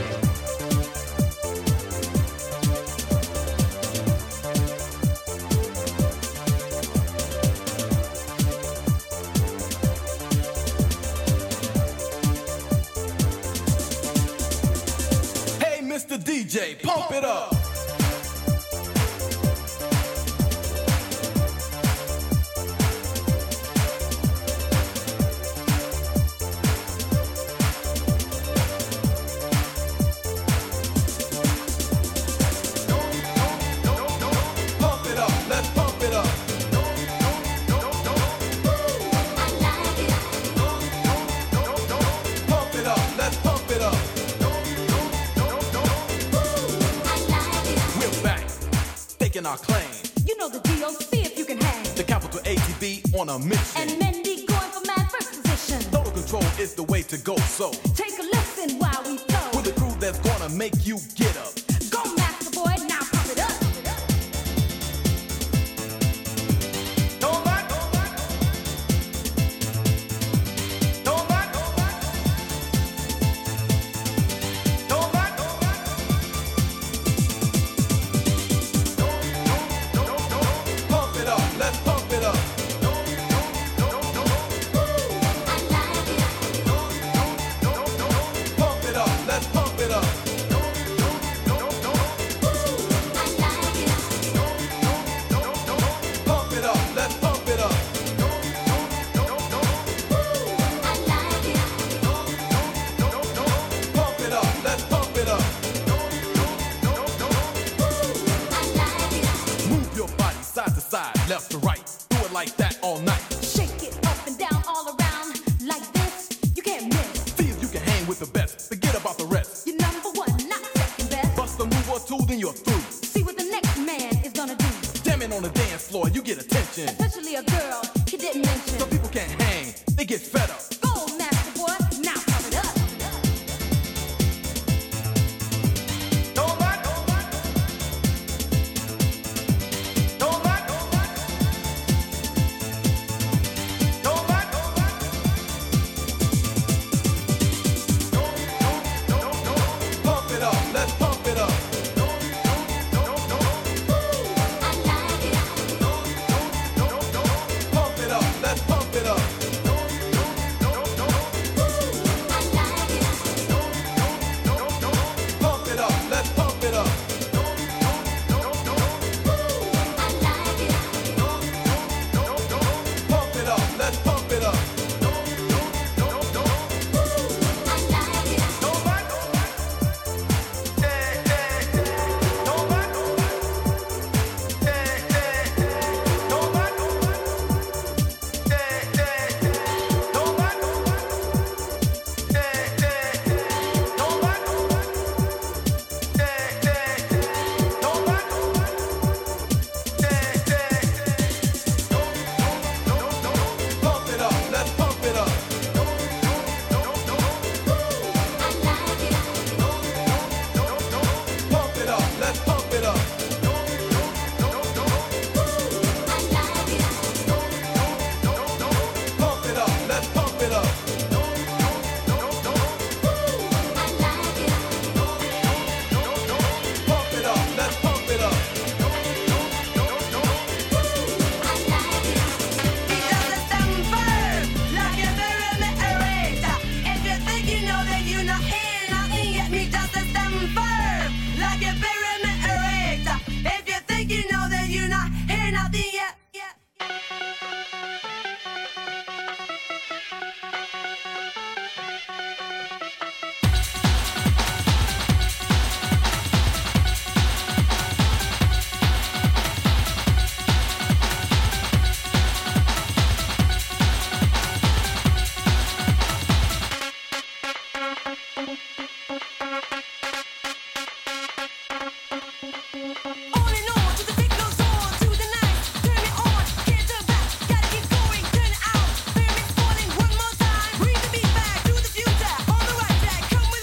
Mr. DJ, pump it up. Pump it up, let's pump it up. Pump it up, let's pump it up. Our claim. You know the DOC if you can hang. The capital ATB on a mission. And Mendy going for mad first position. Total control is the way to go, so take a listen while we flow. With a crew that's gonna make you get up. Go Master Boy, now pump it up. Left to right, do it like that all night. Shake it up and down all around like this, you can't miss. See if you can hang with the best, forget about the rest. You're number one, not second best. Bust a move or two, then you're through. See what the next man is gonna do. Jamming on the dance floor, you get attention. Especially a girl he didn't mention. Some people can't hang, they get fed up. Go Master Boy, now pump it up. Come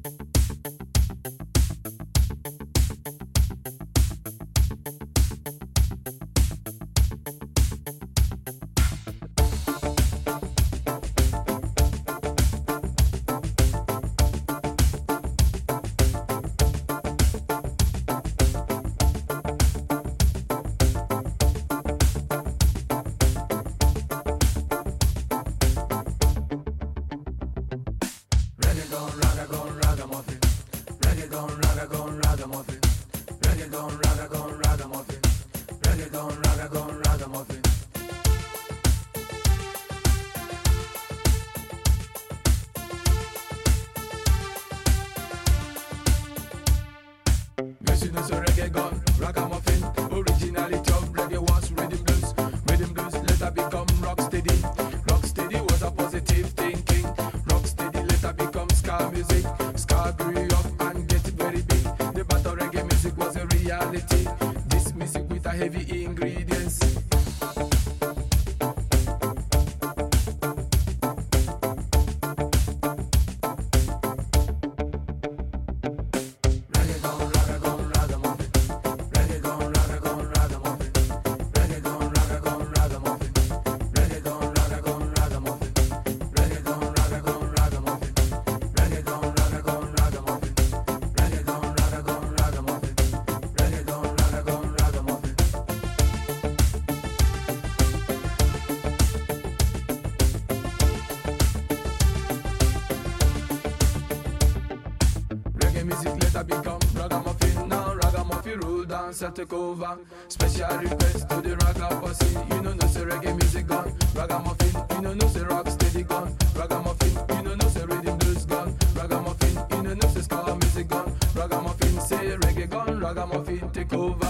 Take over. Special request to the ragamuffin. You know no say reggae music gone. Ragamuffin. You know no say rock steady gone. Ragamuffin. You know no say rhythm blues gone. Ragamuffin. You know no say ska music gone. Ragamuffin say reggae gone. Ragamuffin take over.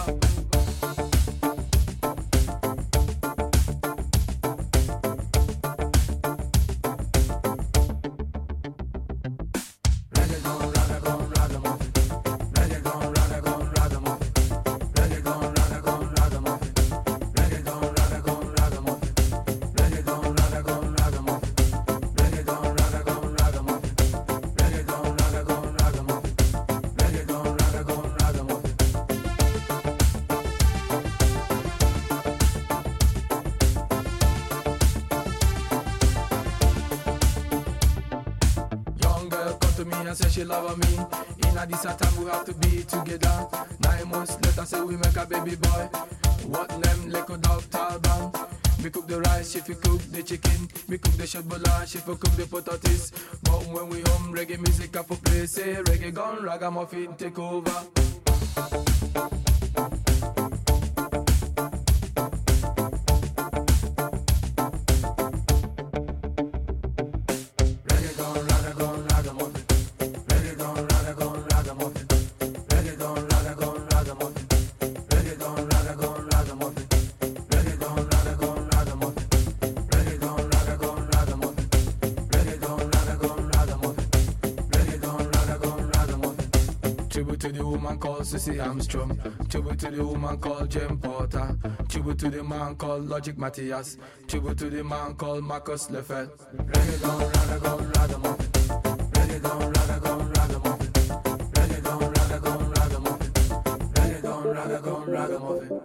Say she love me. In a this time we have to be together. 9 months later say we make a baby boy. What name like a dog Talban. Me cook the rice, she fi cook the chicken. Me cook the shot bola, she fi cook the potatoes. But when we home, reggae music up for play. Say reggae gone, ragamuffin take over. Sissy Armstrong. Tribute to the woman called Jane Porter. Tribute to the man called Logic Matthias. Tribute to the man called Marcus Lefebvre. Reggae gone, ragamuffin. Reggae gone, ragamuffin. Reggae gone, ragamuffin. Reggae gone, ragamuffin.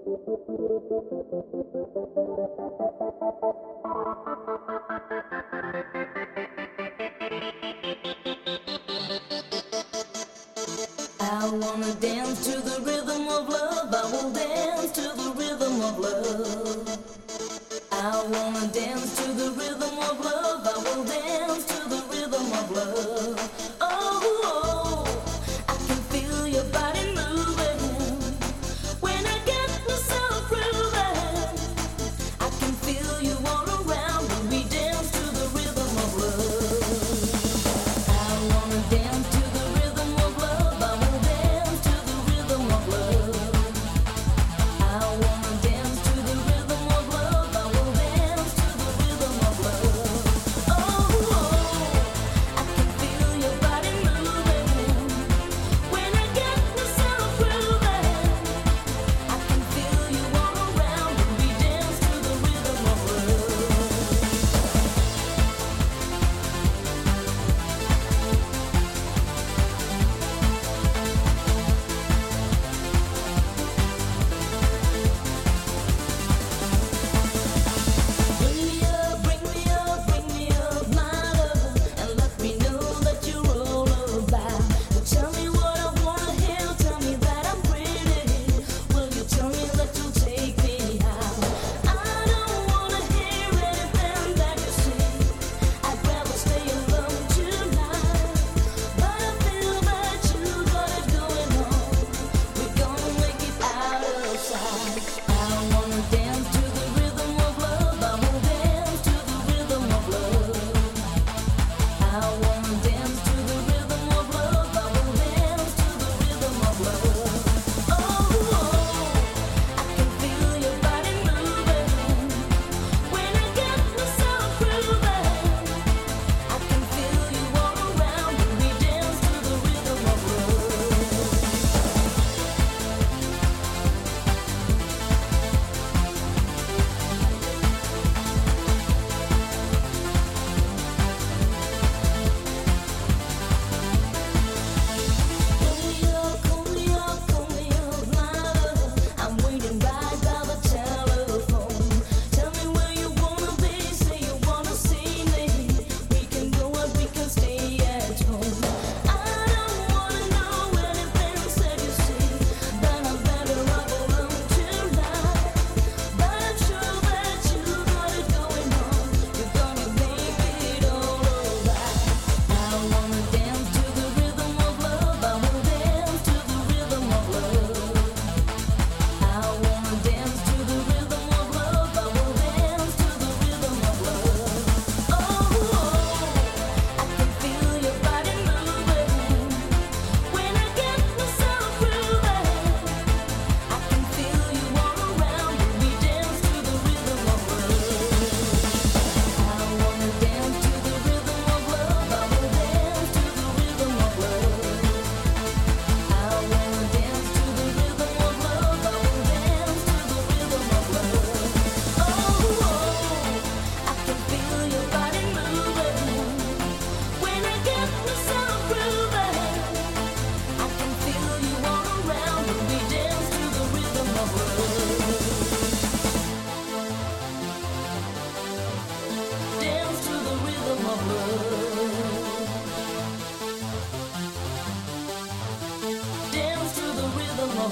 I wanna dance to the rhythm of love. I will dance to the rhythm of love. I wanna dance to the rhythm of love. I will dance to the rhythm of love. Oh, I can feel your body moving when I get myself grooving. I can feel you all around when we dance to the rhythm of love. I wanna dance to the rhythm of love. I will dance to the rhythm of love. I wanna dance to the rhythm of love. I will dance to the rhythm of love.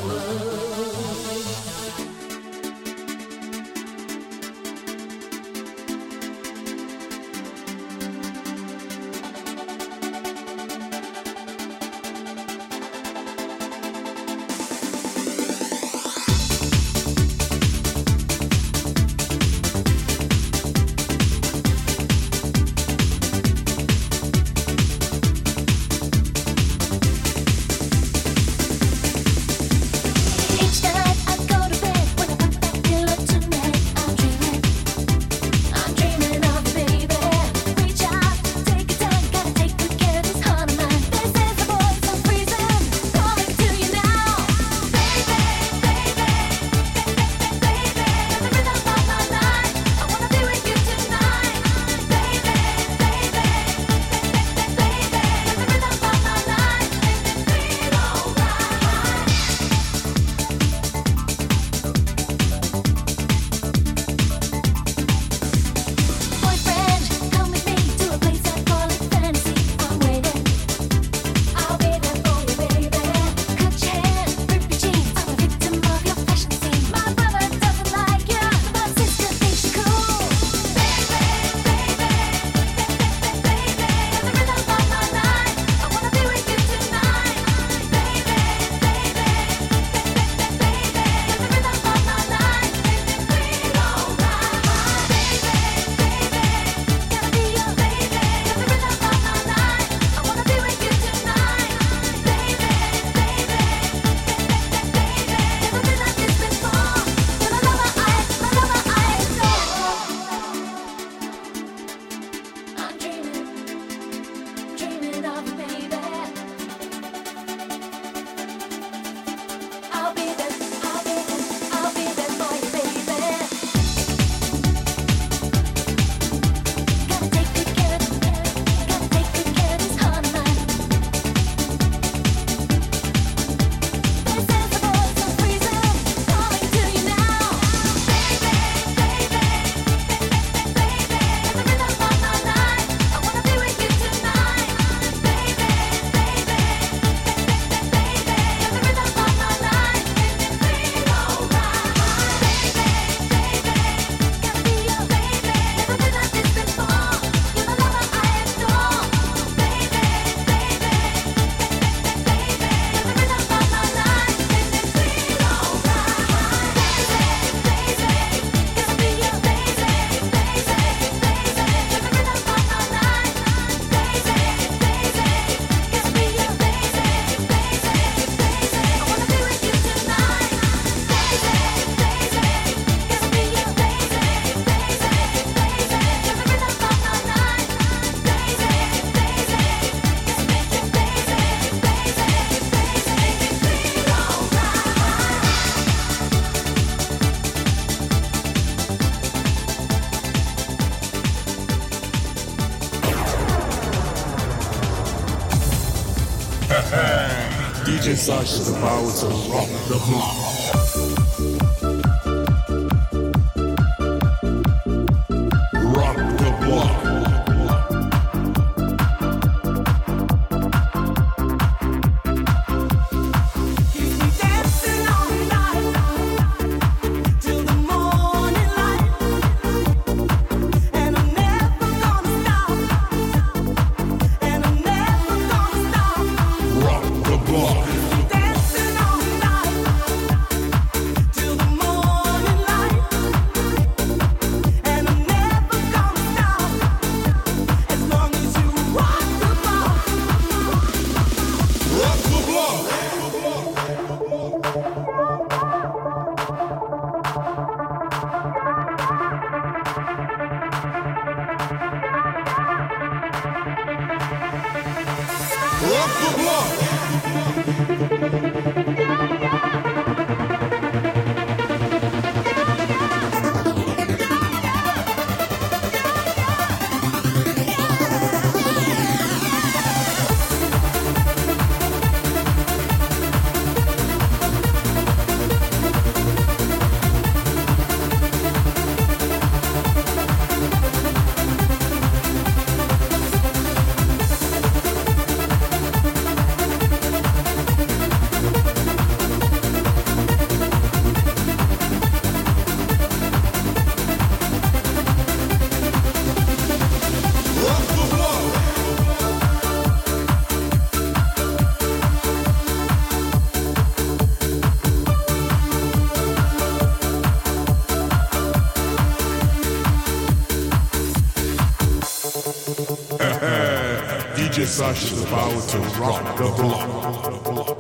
DJ Sarge is the power to rock the block. Sasha's about to rock the block.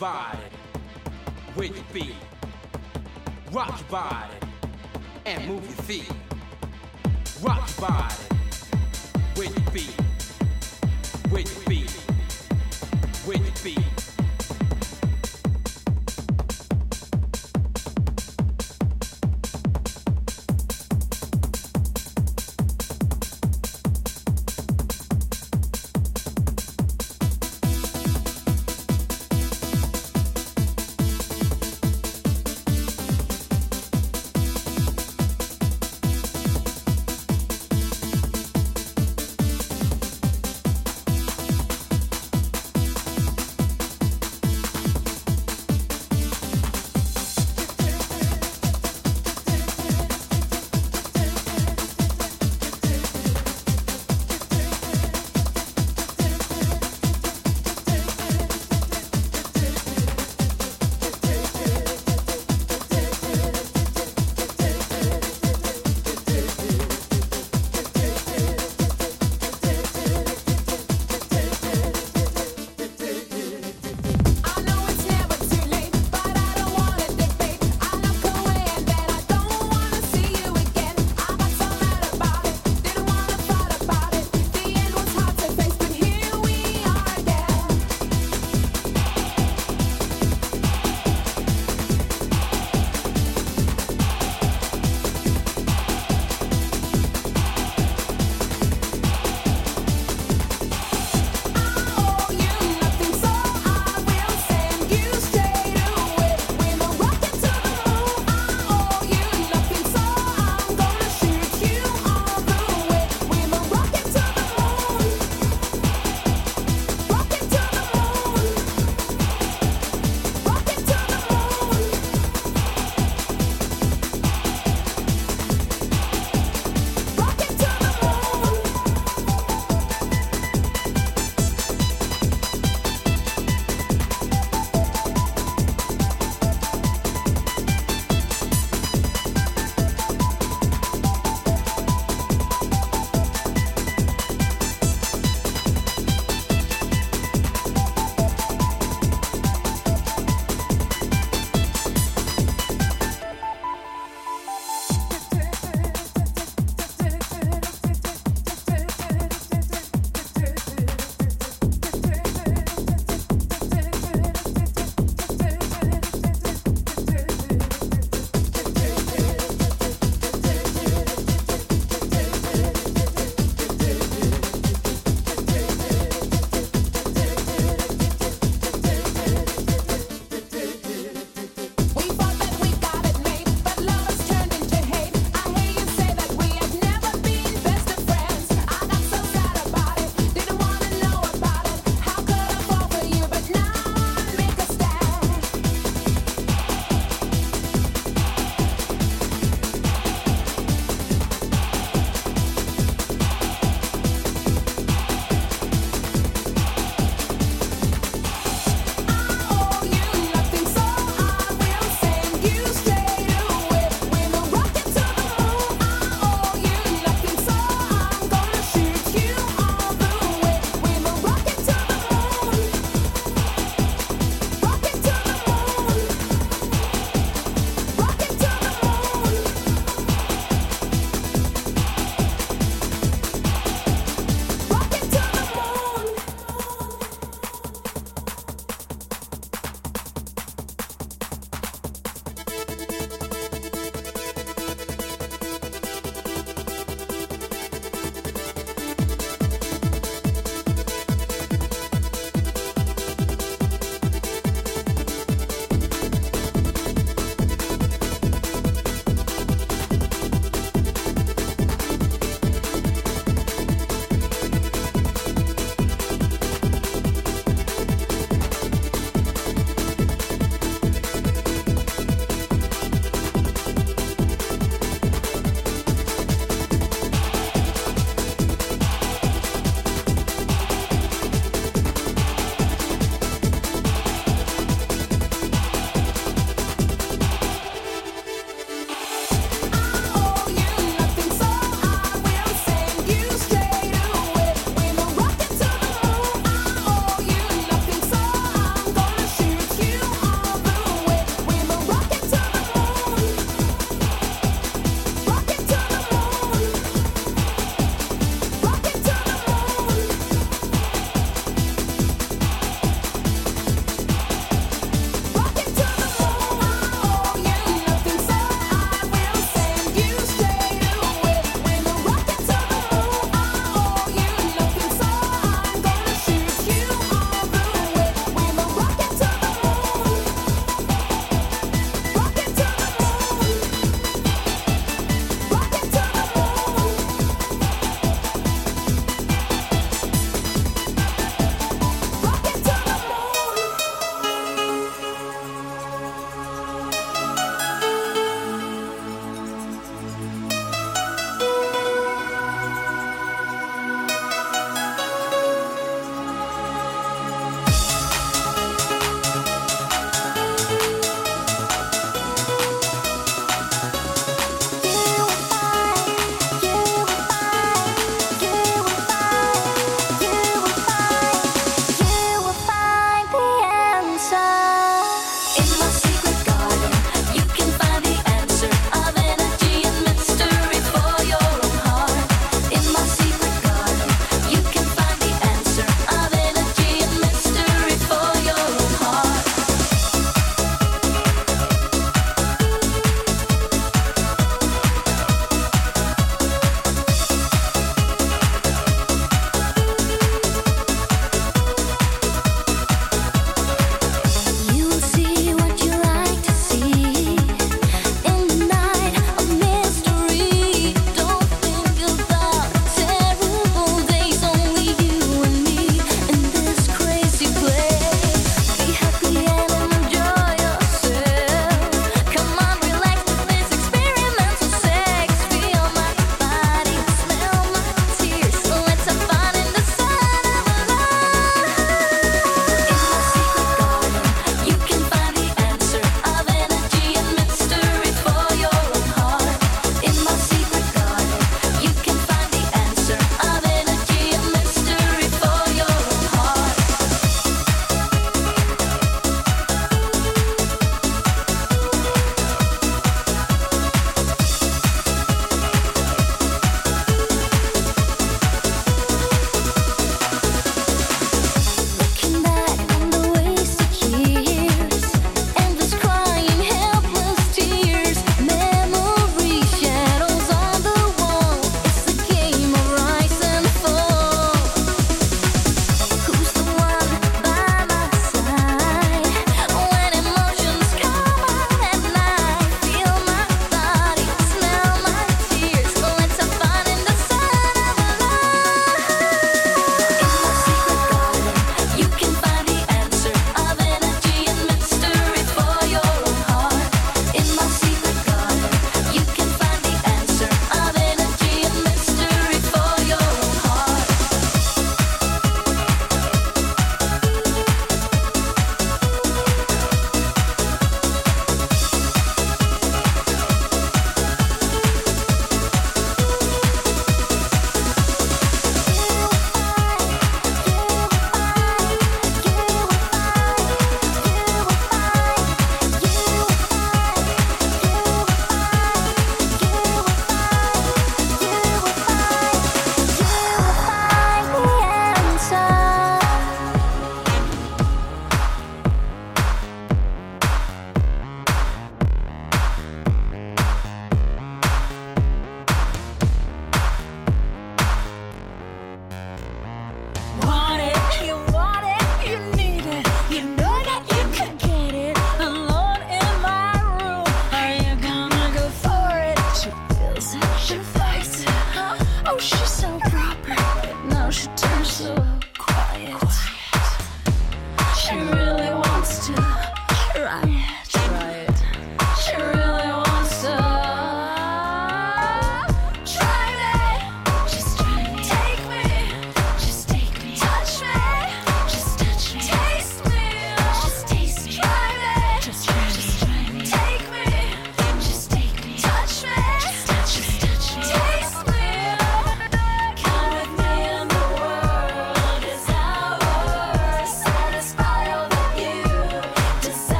body with your beat. Rock your body and move your feet. Rock your body with your beat. With your beat. With your beat.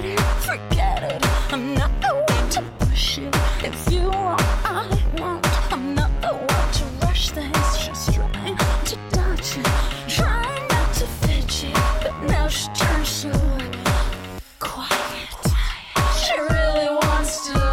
it, forget it. I'm not the one to push it. If you want, I want. I'm not the one to rush things. She's trying to dodge it, trying not to fidget, but now she turns so quiet. She really wants to.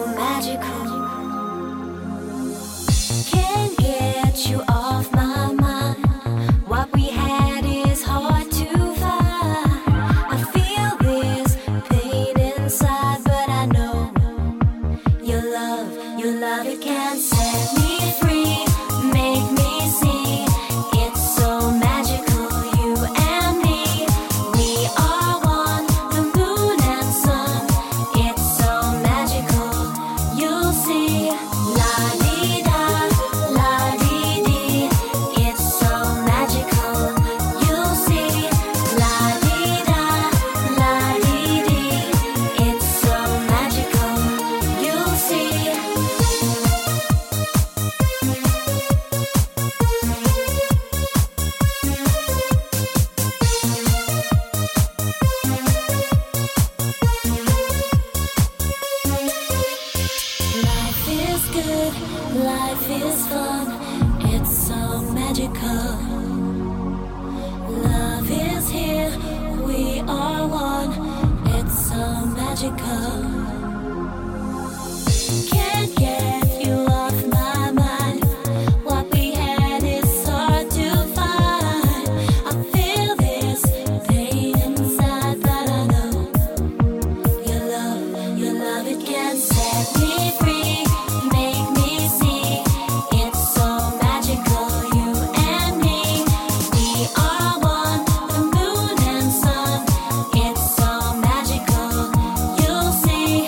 You'll see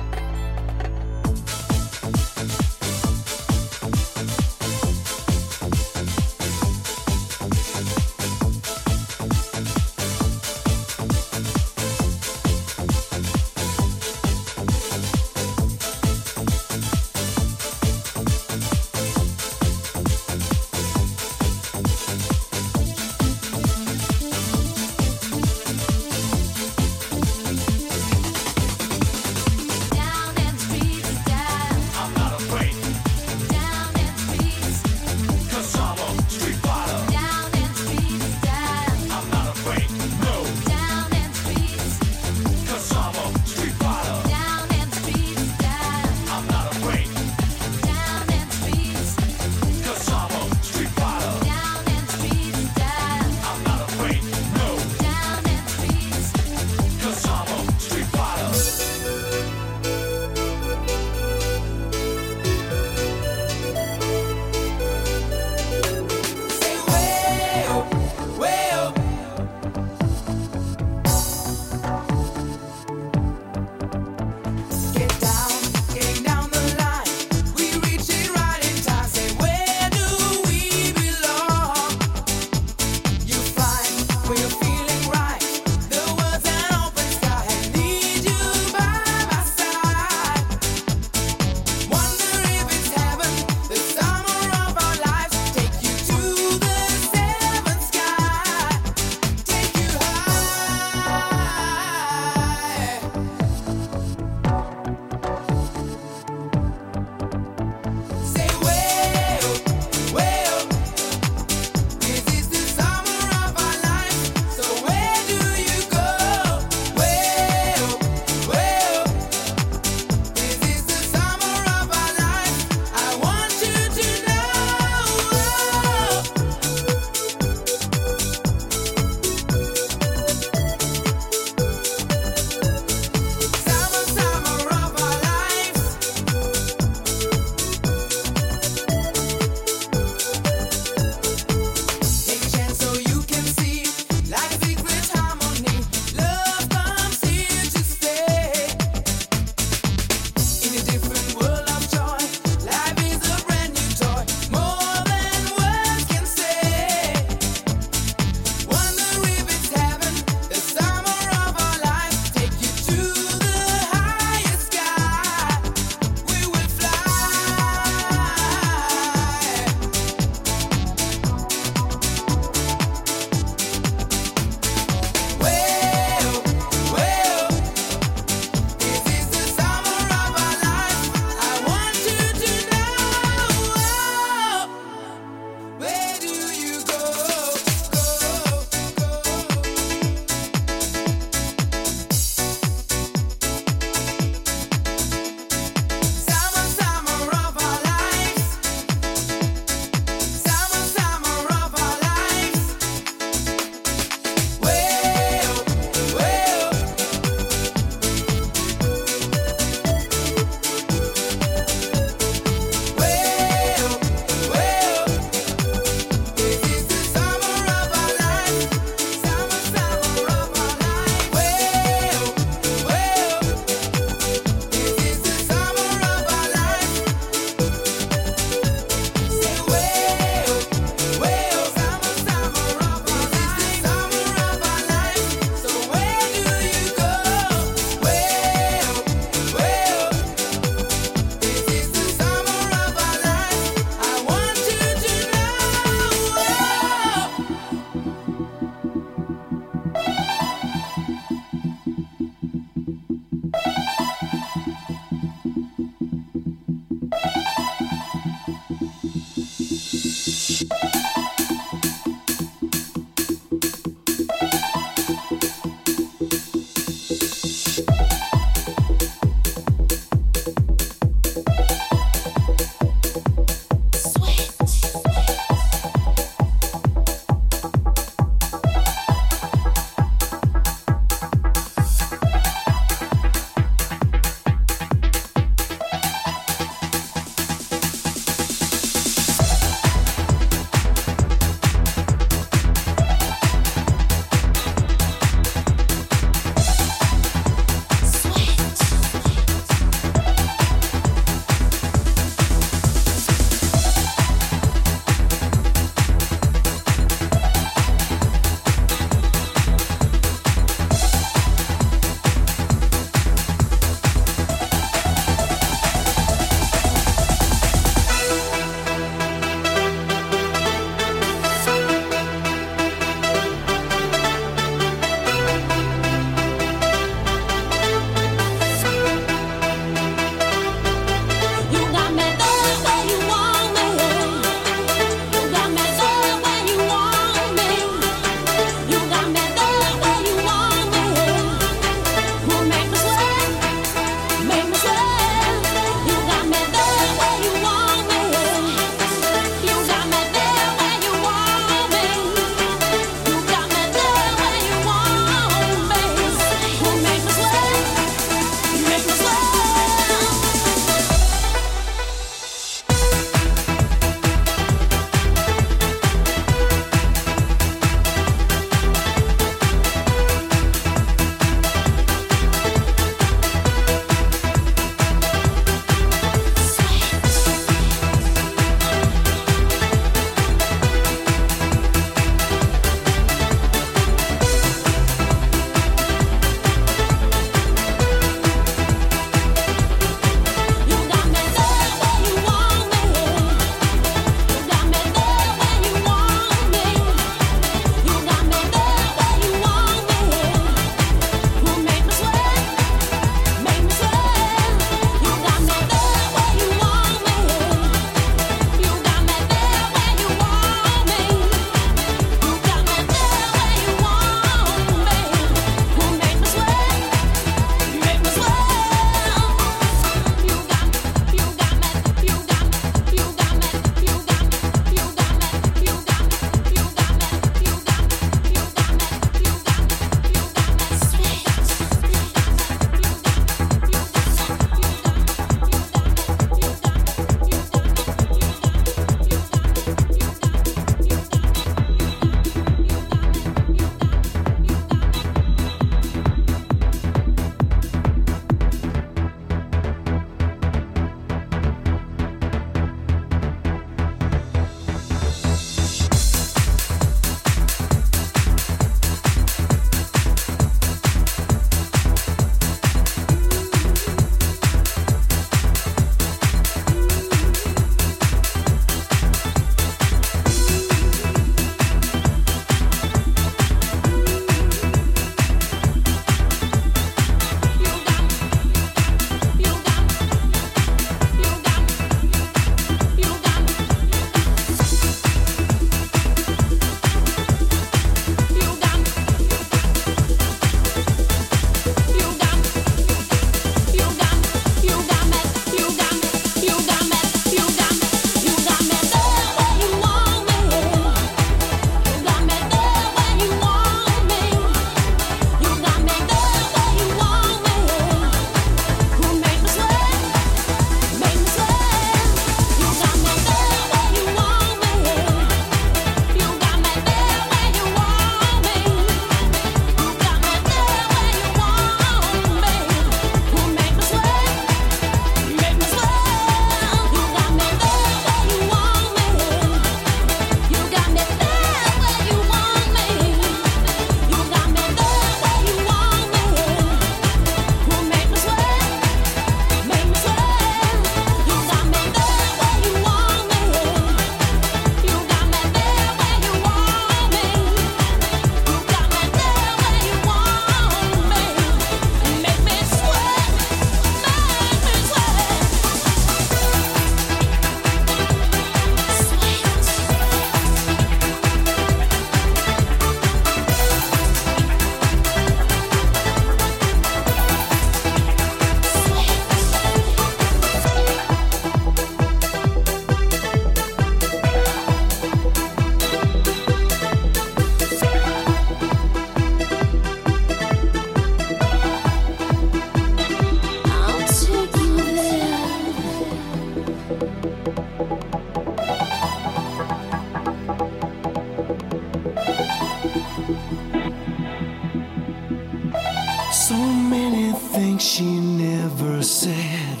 things she never said.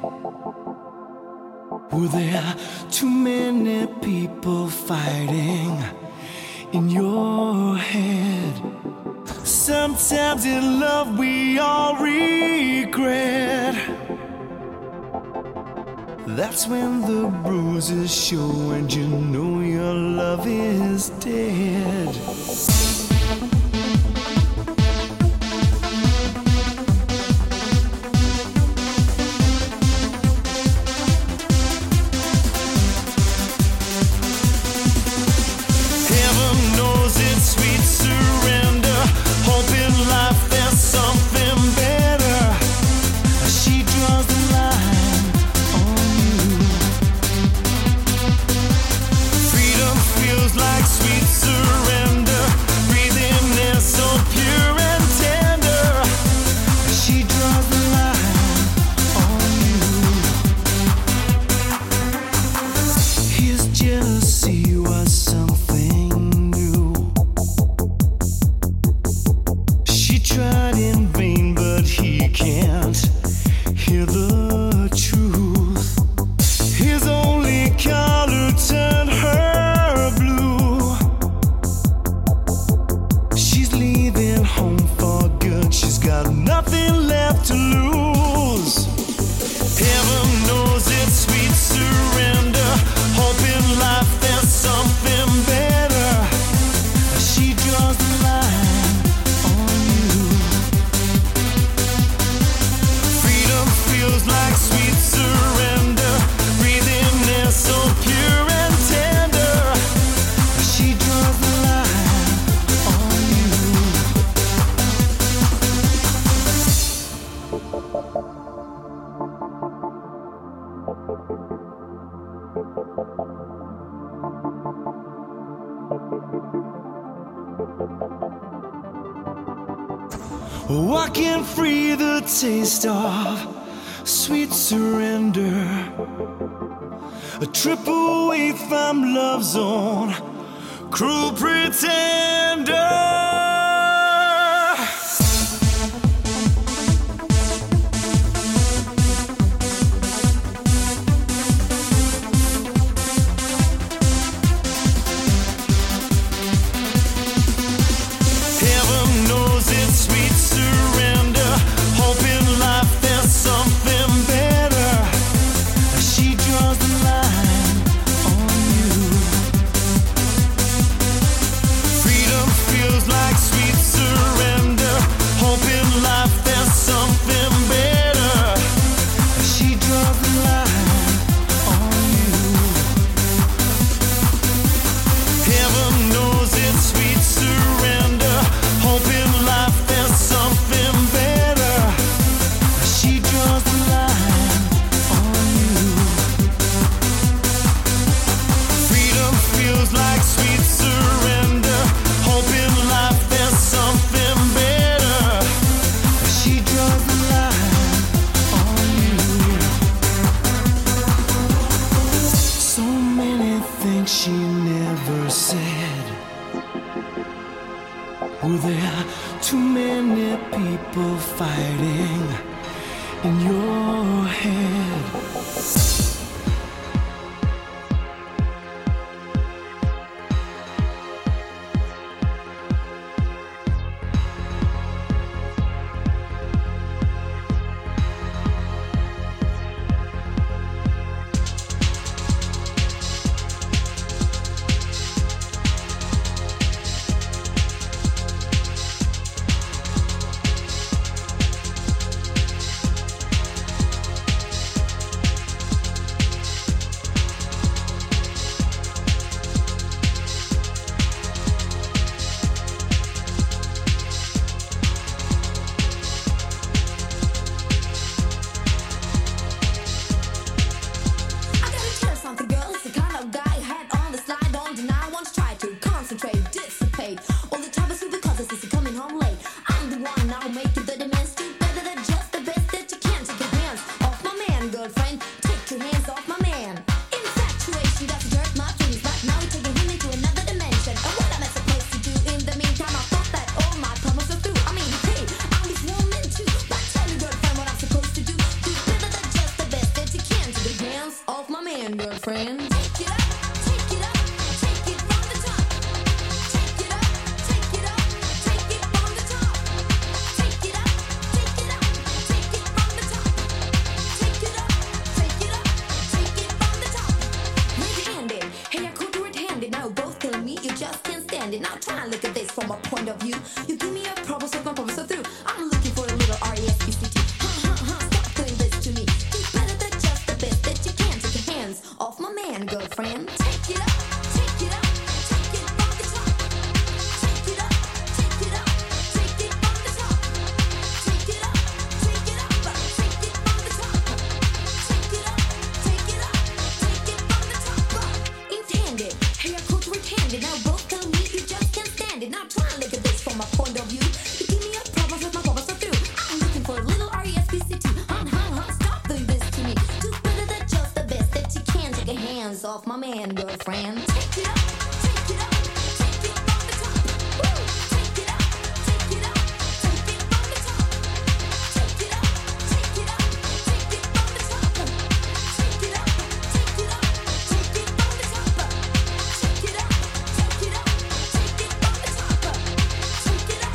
Were there too many people fighting in your head? Sometimes in love we all regret. That's when the bruises show and you know your love is dead. Walking free, the taste of sweet surrender. A trip away from love's own cruel pretender. She never said. Were there too many people fighting in your head? standing. Now try and look at this from a point of view. You give me a problem, so my problems are through. I'm looking for a little R-E-S-P-C-T. Stop doing this to me. Do better than just the best that you can. Take your hands off my man, girlfriend. Take it up, take it up, take it from the top. Take it up, take it up, take it from the top. Take it up, take it up, take it from the top. Take it up, take it up, take it from the top. Intended, hey, I could red-handed. Now both tell me you just can't stand it. Now try and look at this from a point of view. You give me a problem, so my problems are through. I'm looking for a little R-E-S-P-C-T. Stop doing this to me. Do better than just the best that you can. Take your hands off my man, girlfriend. Take it up, take it up, take it from the top. Woo! Take it up, take it up, take it from the top. Take it up, take it up, take it from the top. Take it up, take it up, take it from the top. Take it up, take it up, take it from the top. Take it up, take it up, take it from the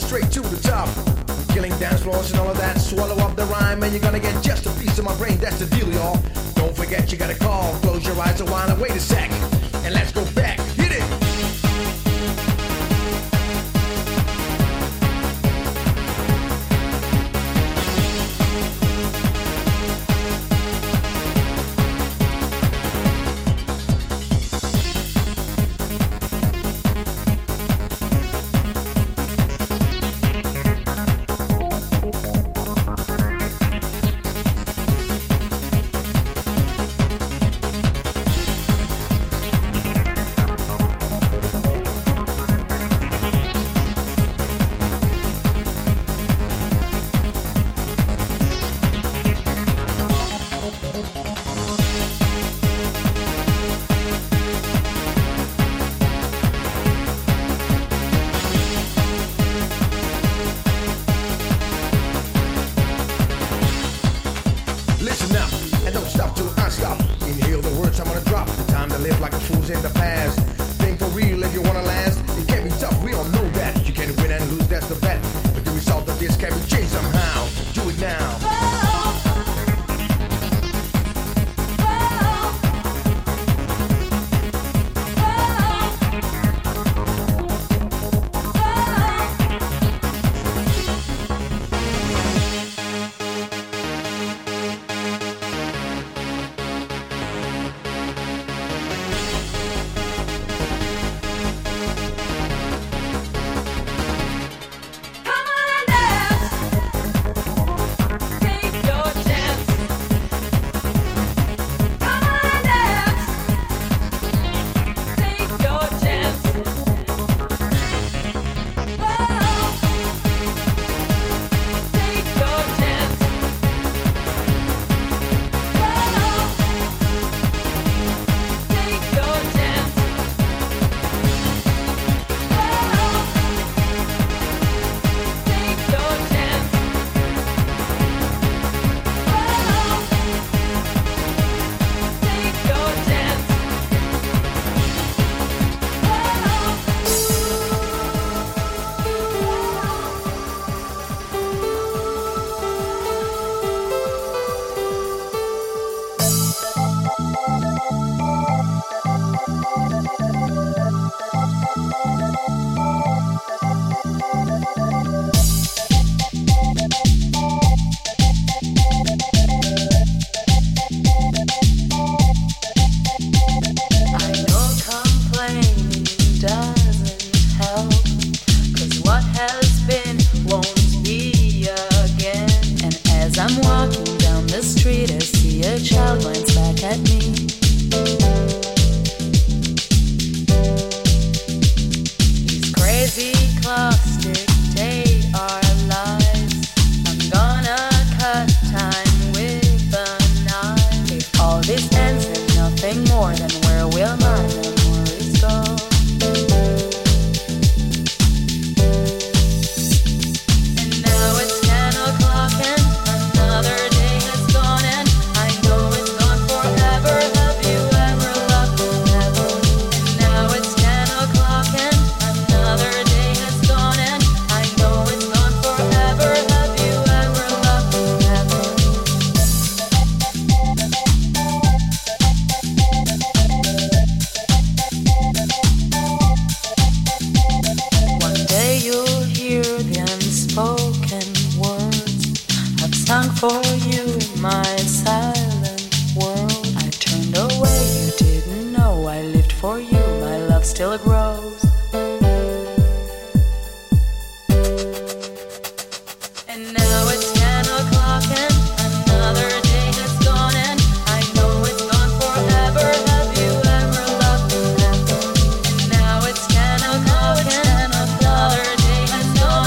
straight to the top. Killing dance floors and all of that. Swallow up the rhyme and you're gonna get just a piece of my brain. That's the deal, y'all. Don't forget you gotta call. Close your eyes a while and wait a sec. And let's go back. Hit it.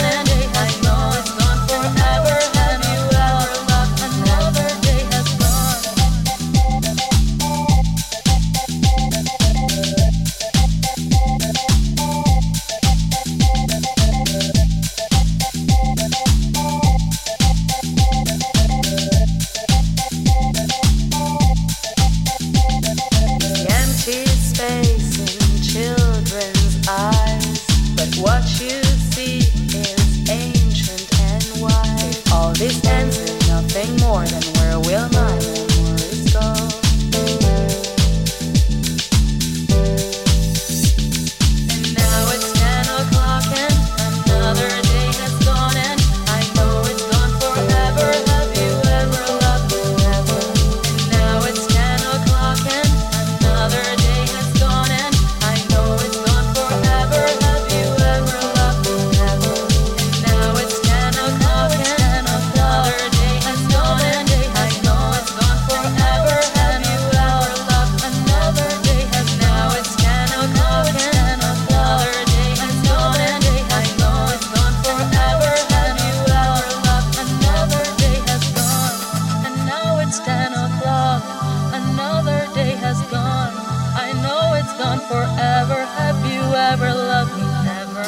Another day has gone. will my memories go? And now it's 10 o'clock and another day has gone, and I know it's gone forever. Have you ever loved me? Never. And now it's 10 o'clock and another day has gone, and I know it's gone forever. Have you ever loved me? Never. And now it's 10 o'clock and another day has gone, and I know it's gone forever. Have you ever loved another day? Has now it's 10 o'clock and another day has gone, and I know it's gone forever. Have you ever loved another day has gone, and now it's 10 o'clock. Another day has gone. I know it's gone forever. Have you ever loved me? Never.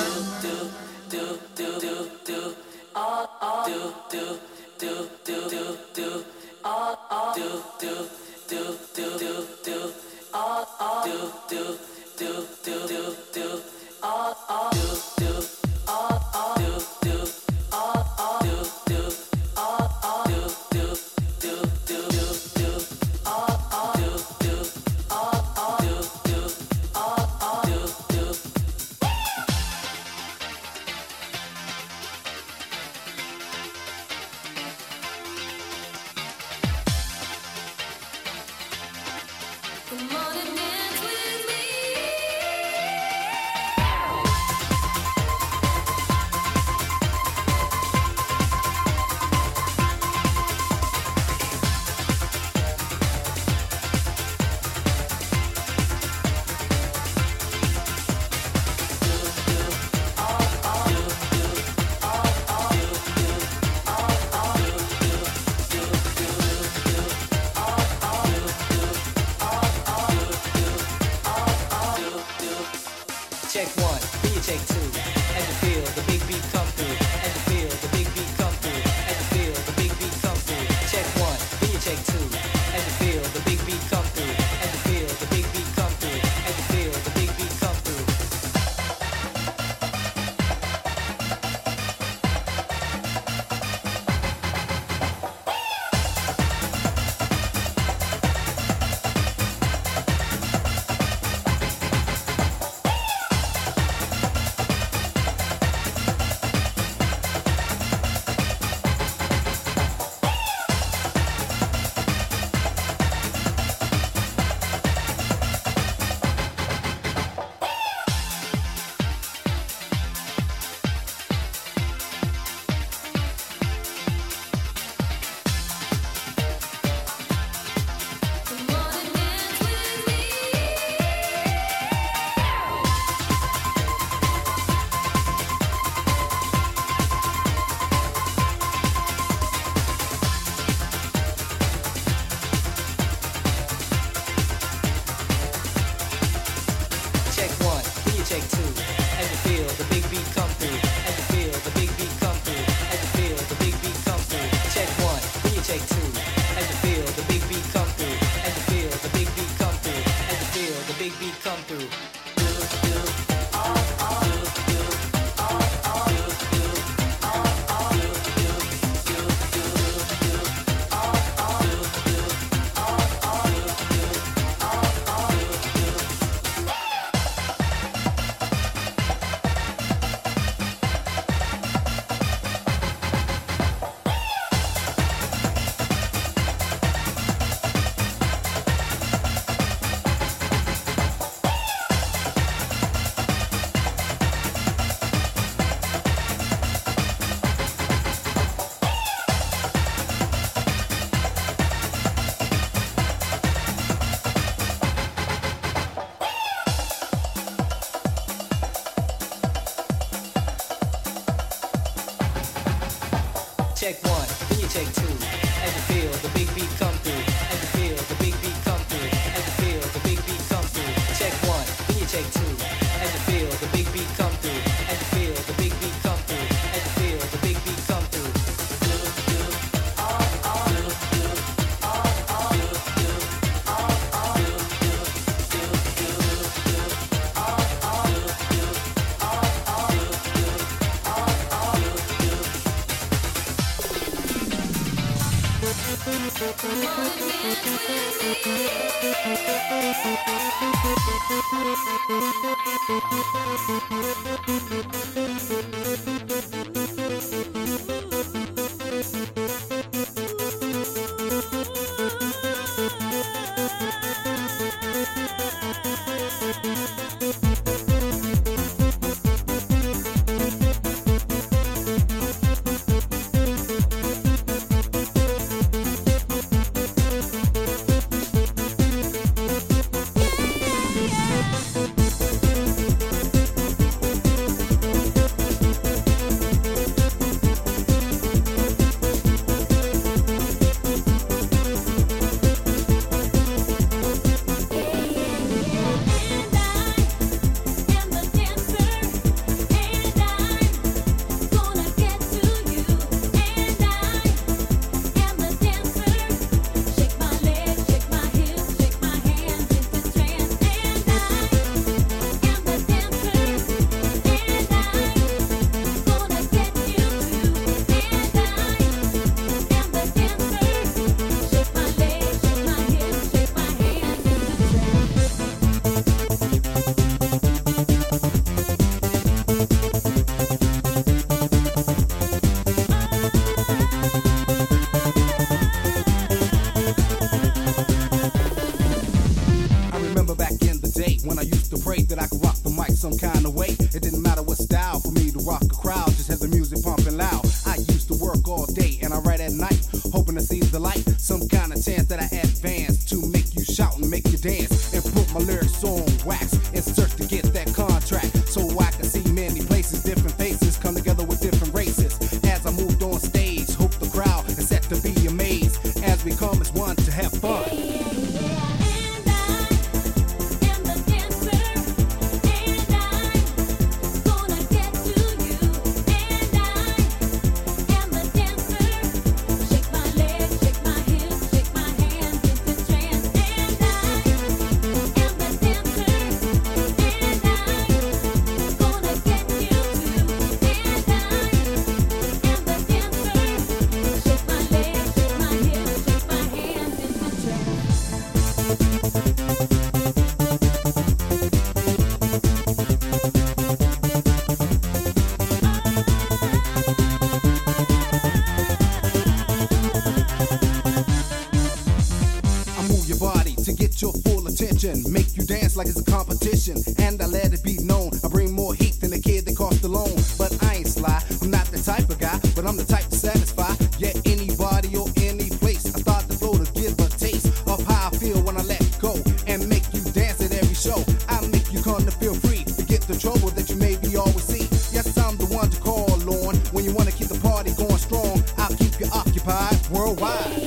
Make you dance like it's a competition, and I let it be known I bring more heat than the kid that cost the loan. But I ain't sly, I'm not the type of guy, but I'm the type to satisfy. Yeah, anybody or any place. I start the flow to give a taste of how I feel when I let go and make you dance at every show. I make you come to feel free, forget the trouble that you maybe always see. Yes, I'm the one to call on when you want to keep the party going strong. I'll keep you occupied worldwide.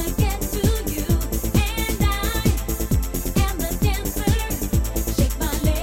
Shake my leg.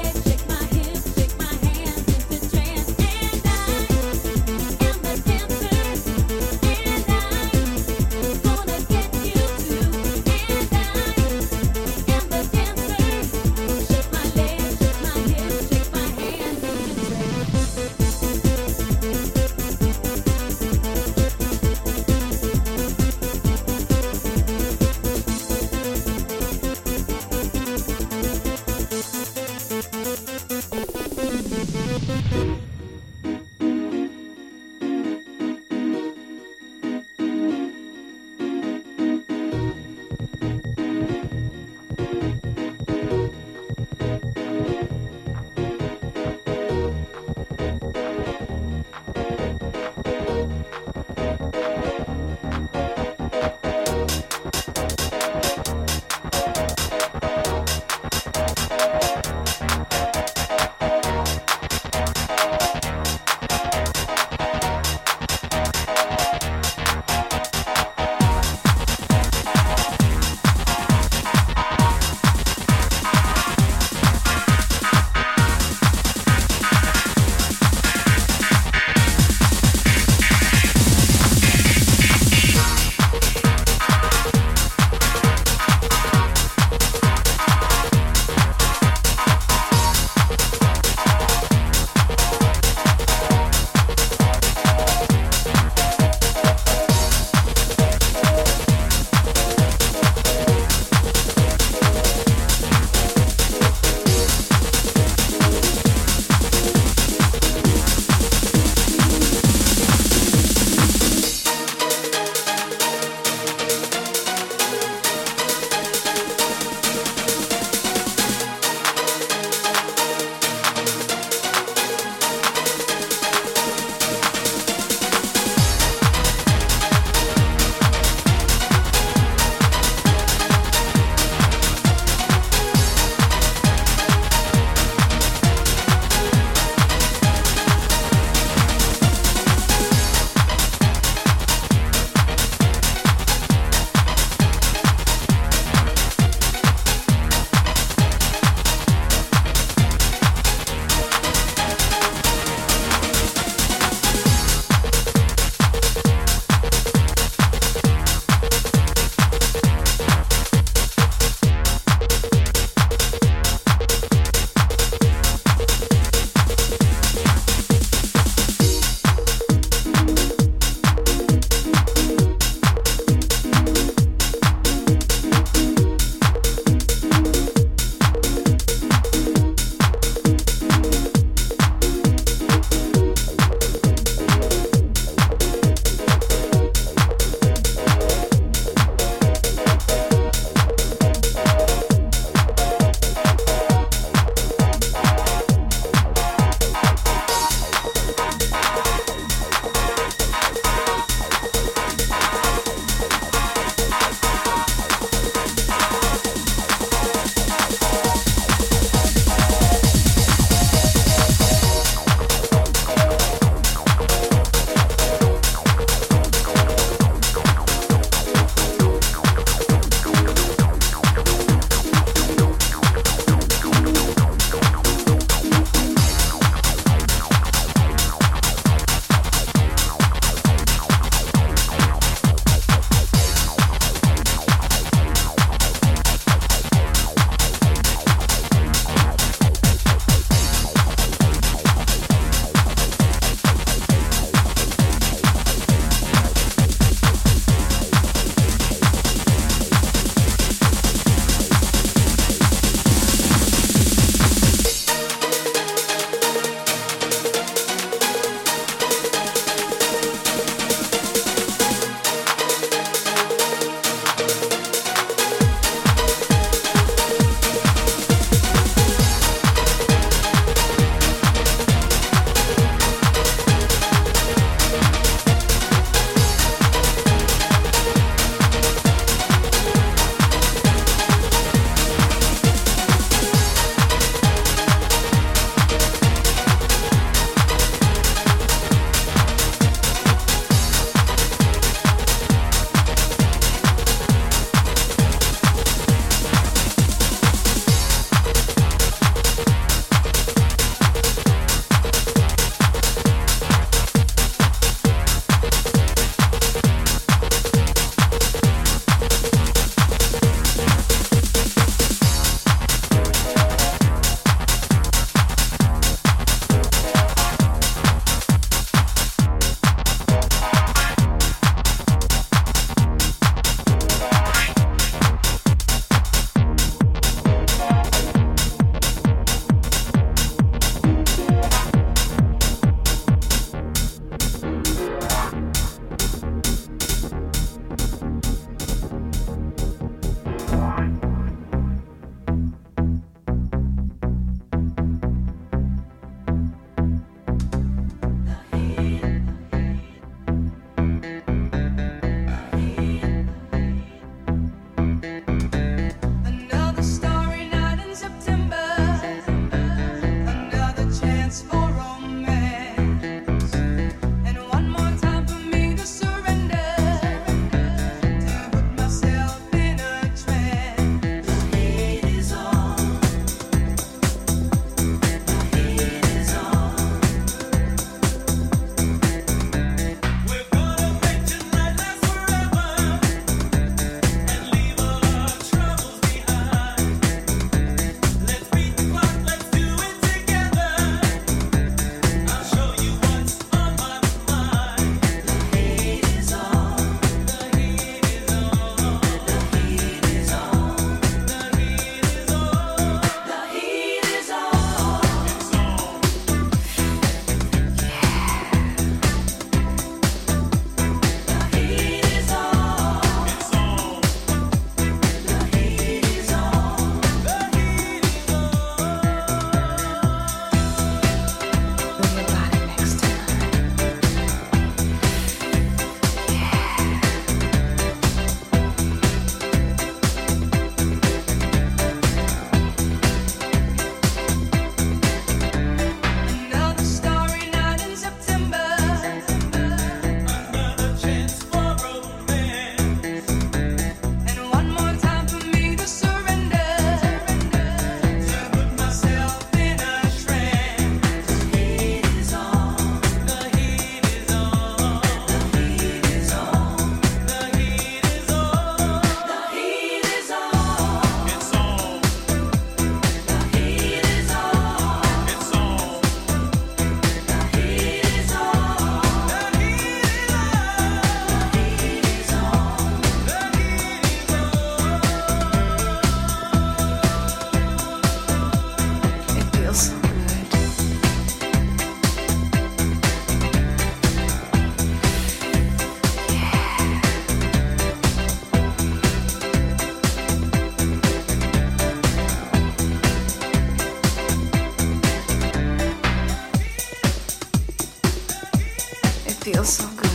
feels so good.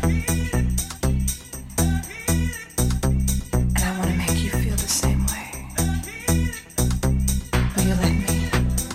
And I want to make you feel the same way. Will you let me?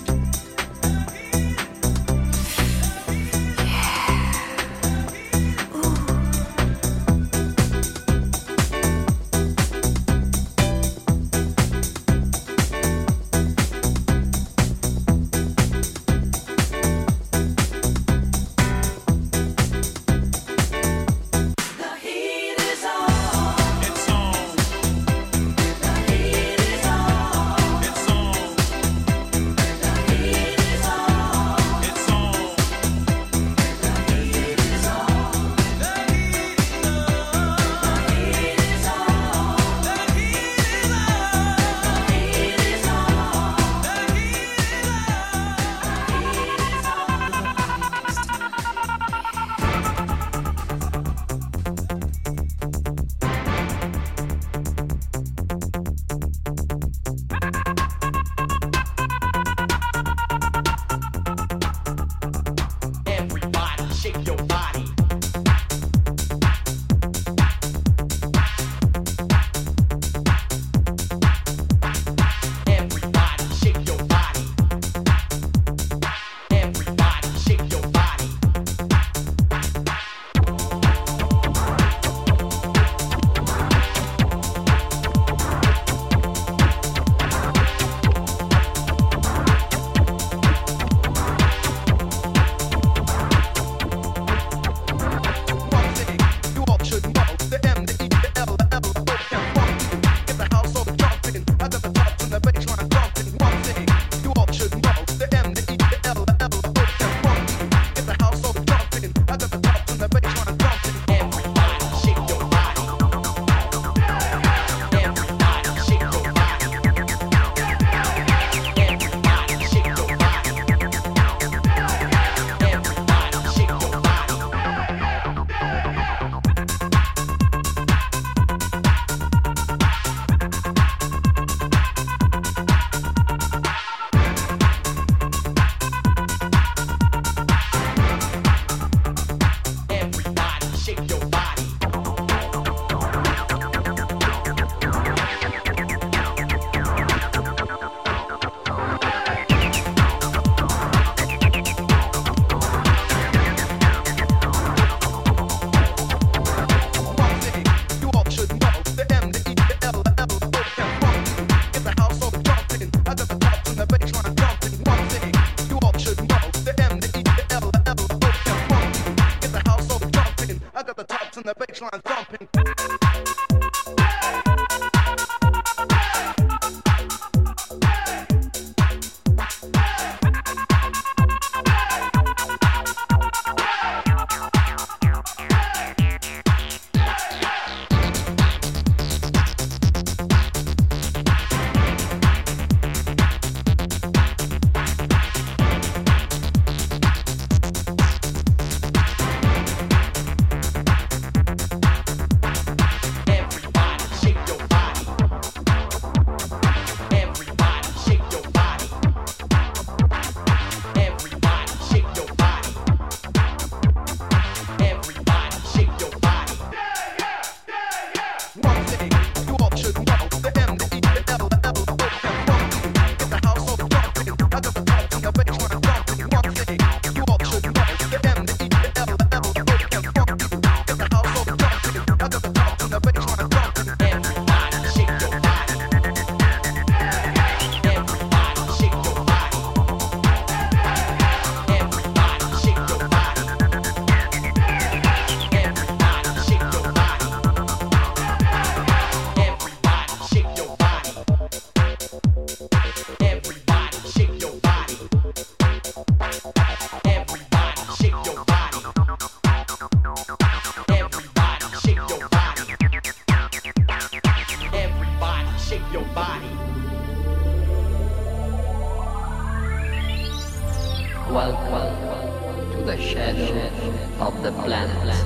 Welcome to the shadow of the planet.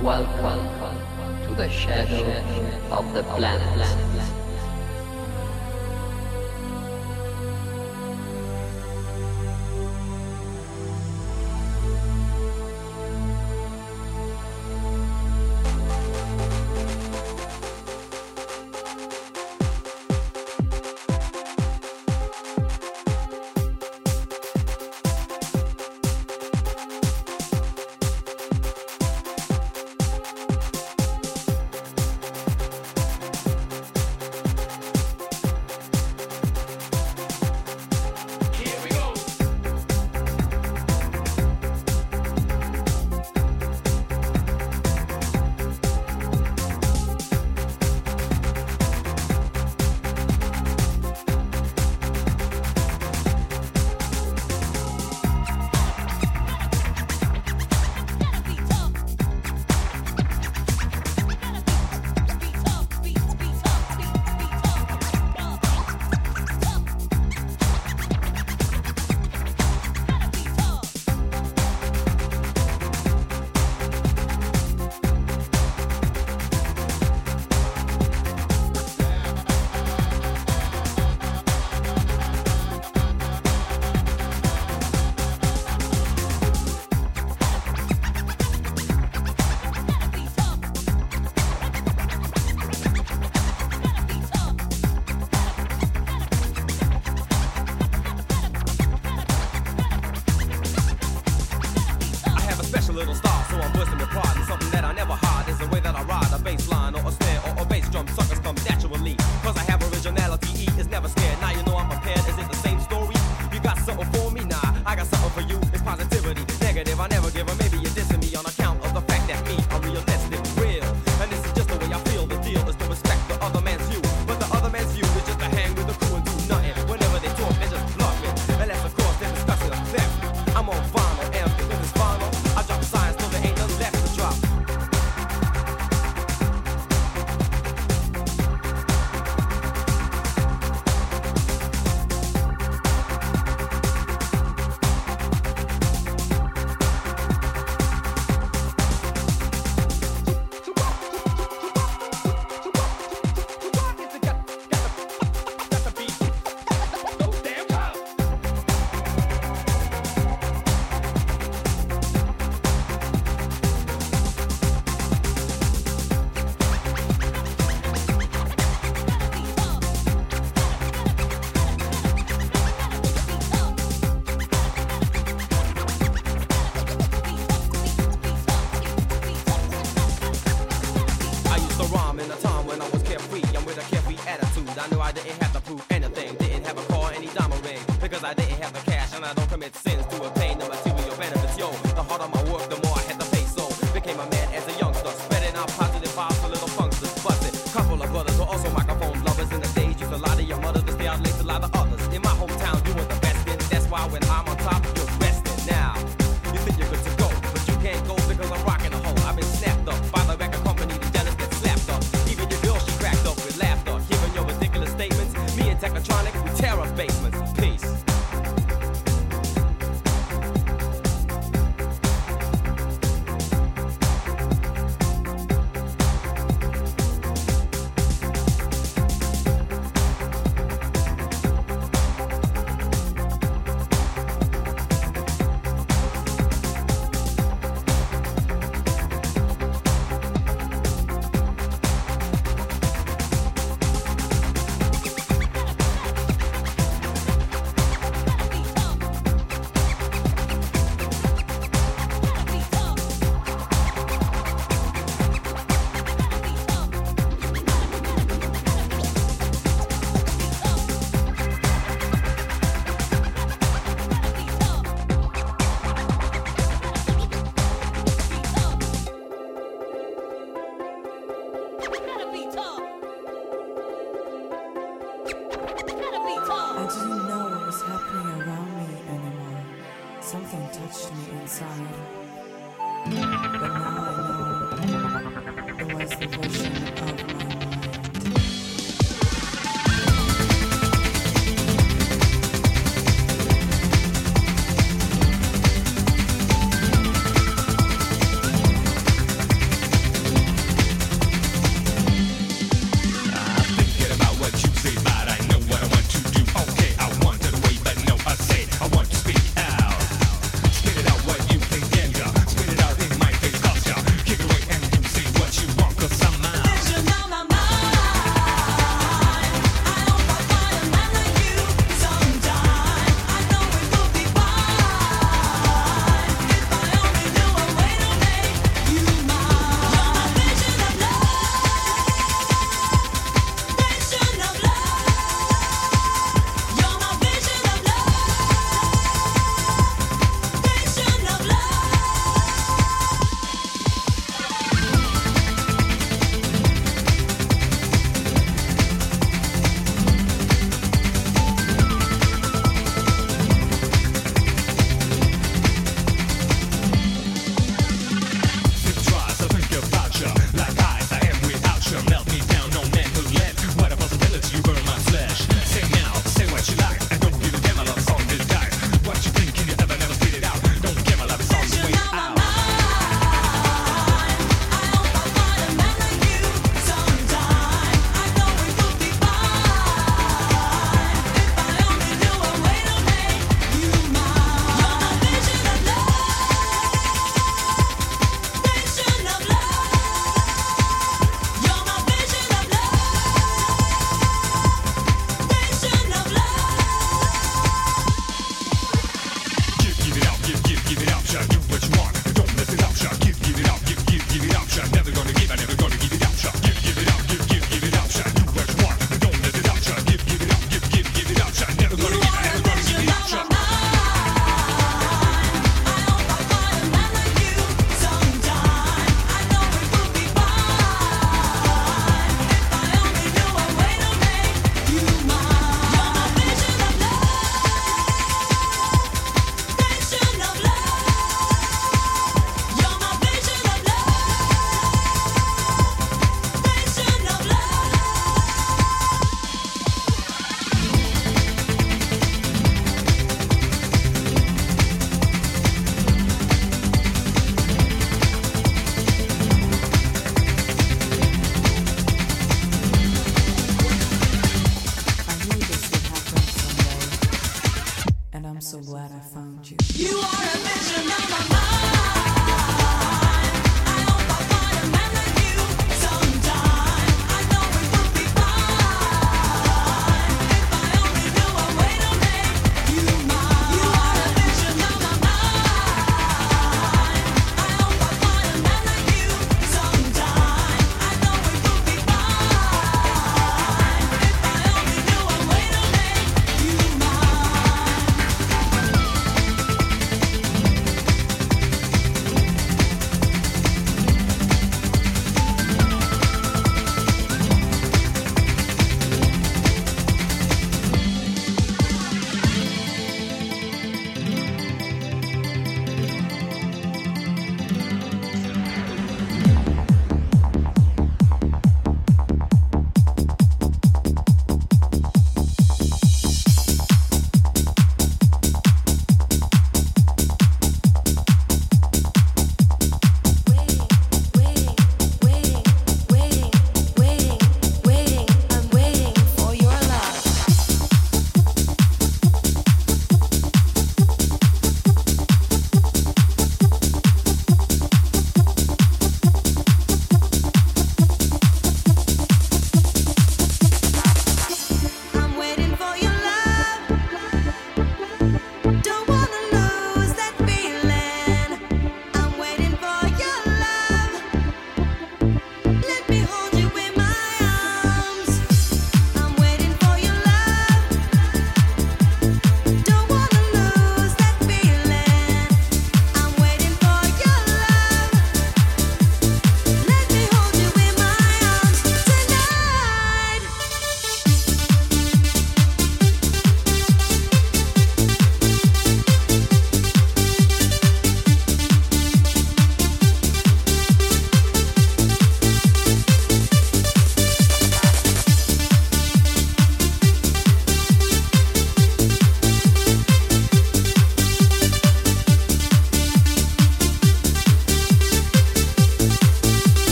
Welcome to the shadow of the planet.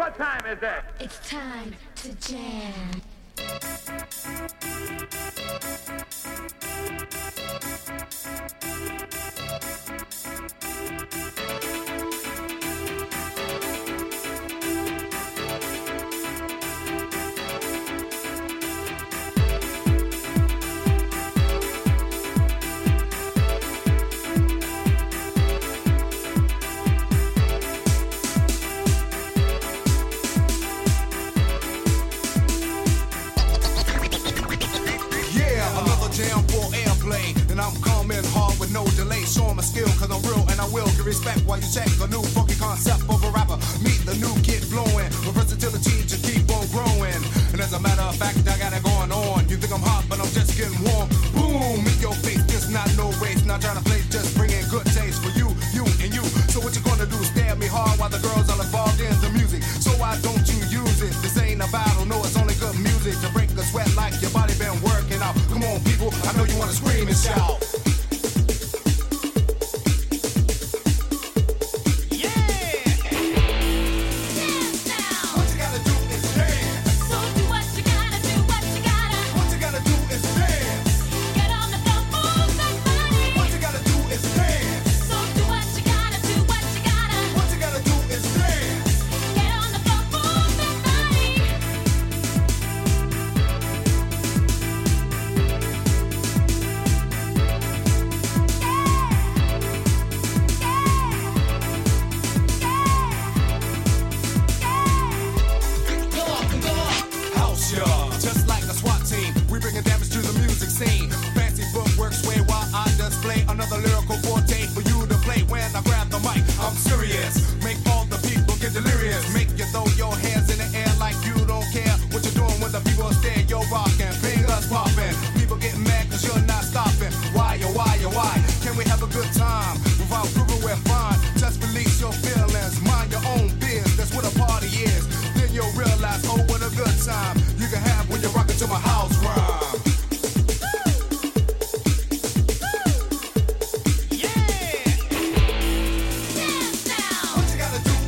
What time is it? It's time to jam. Cause I'm real and I will give respect while you check a new funky concept of a rapper. Meet the new kid flowing with versatility to keep on growing. And as a matter of fact, I got it going on. You think I'm hot, but I'm just getting warm. Boom, meet your face, this not no race. Not trying to play, just bringing good taste for you, you, and you. So what you gonna do? Stare at me hard while the girls are involved in the music. So why don't you use it? This ain't a battle, no, it's only good music to break a sweat like your body been working out. Come on, people, I know you wanna scream and shout. What you gotta do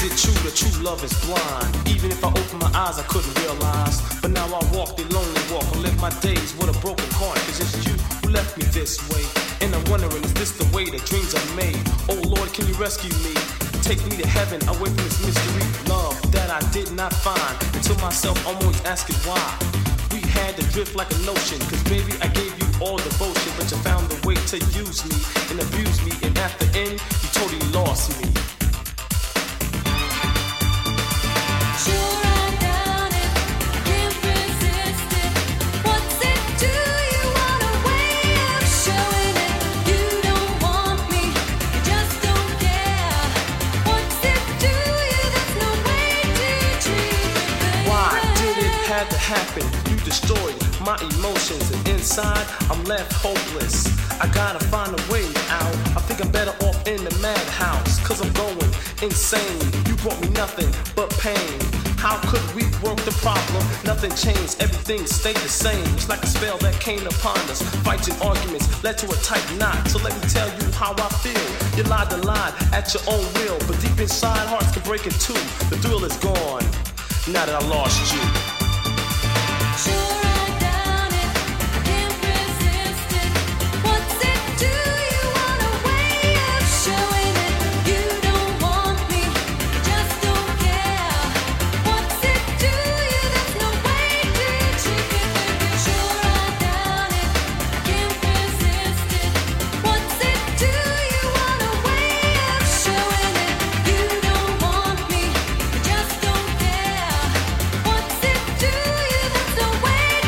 it true that true love is blind? Even if I opened my eyes, I couldn't realize. But now I walk the lonely walk. I live my days with a broken heart. Cause it's you who left me this way. And I'm wondering, is this the way that dreams are made? Oh Lord, can you rescue me? Take me to heaven, away from this mystery. Love that I did not find. And to myself, I'm always asking why. We had to drift like an ocean. Cause baby, I gave you all devotion. But you found a way to use me and abuse me. And at the end, you totally lost me. Had to happen, you destroyed my emotions, and inside I'm left hopeless. I gotta find a way out. I think I'm better off in the madhouse, cause I'm going insane. You brought me nothing but pain. How could we work the problem? Nothing changed, everything stayed the same. It's like a spell that came upon us. Fights and arguments led to a tight knot. So let me tell you how I feel. You lied and lied at your own will, but deep inside hearts can break in two. The thrill is gone, now that I lost you. What's it do you? That's the way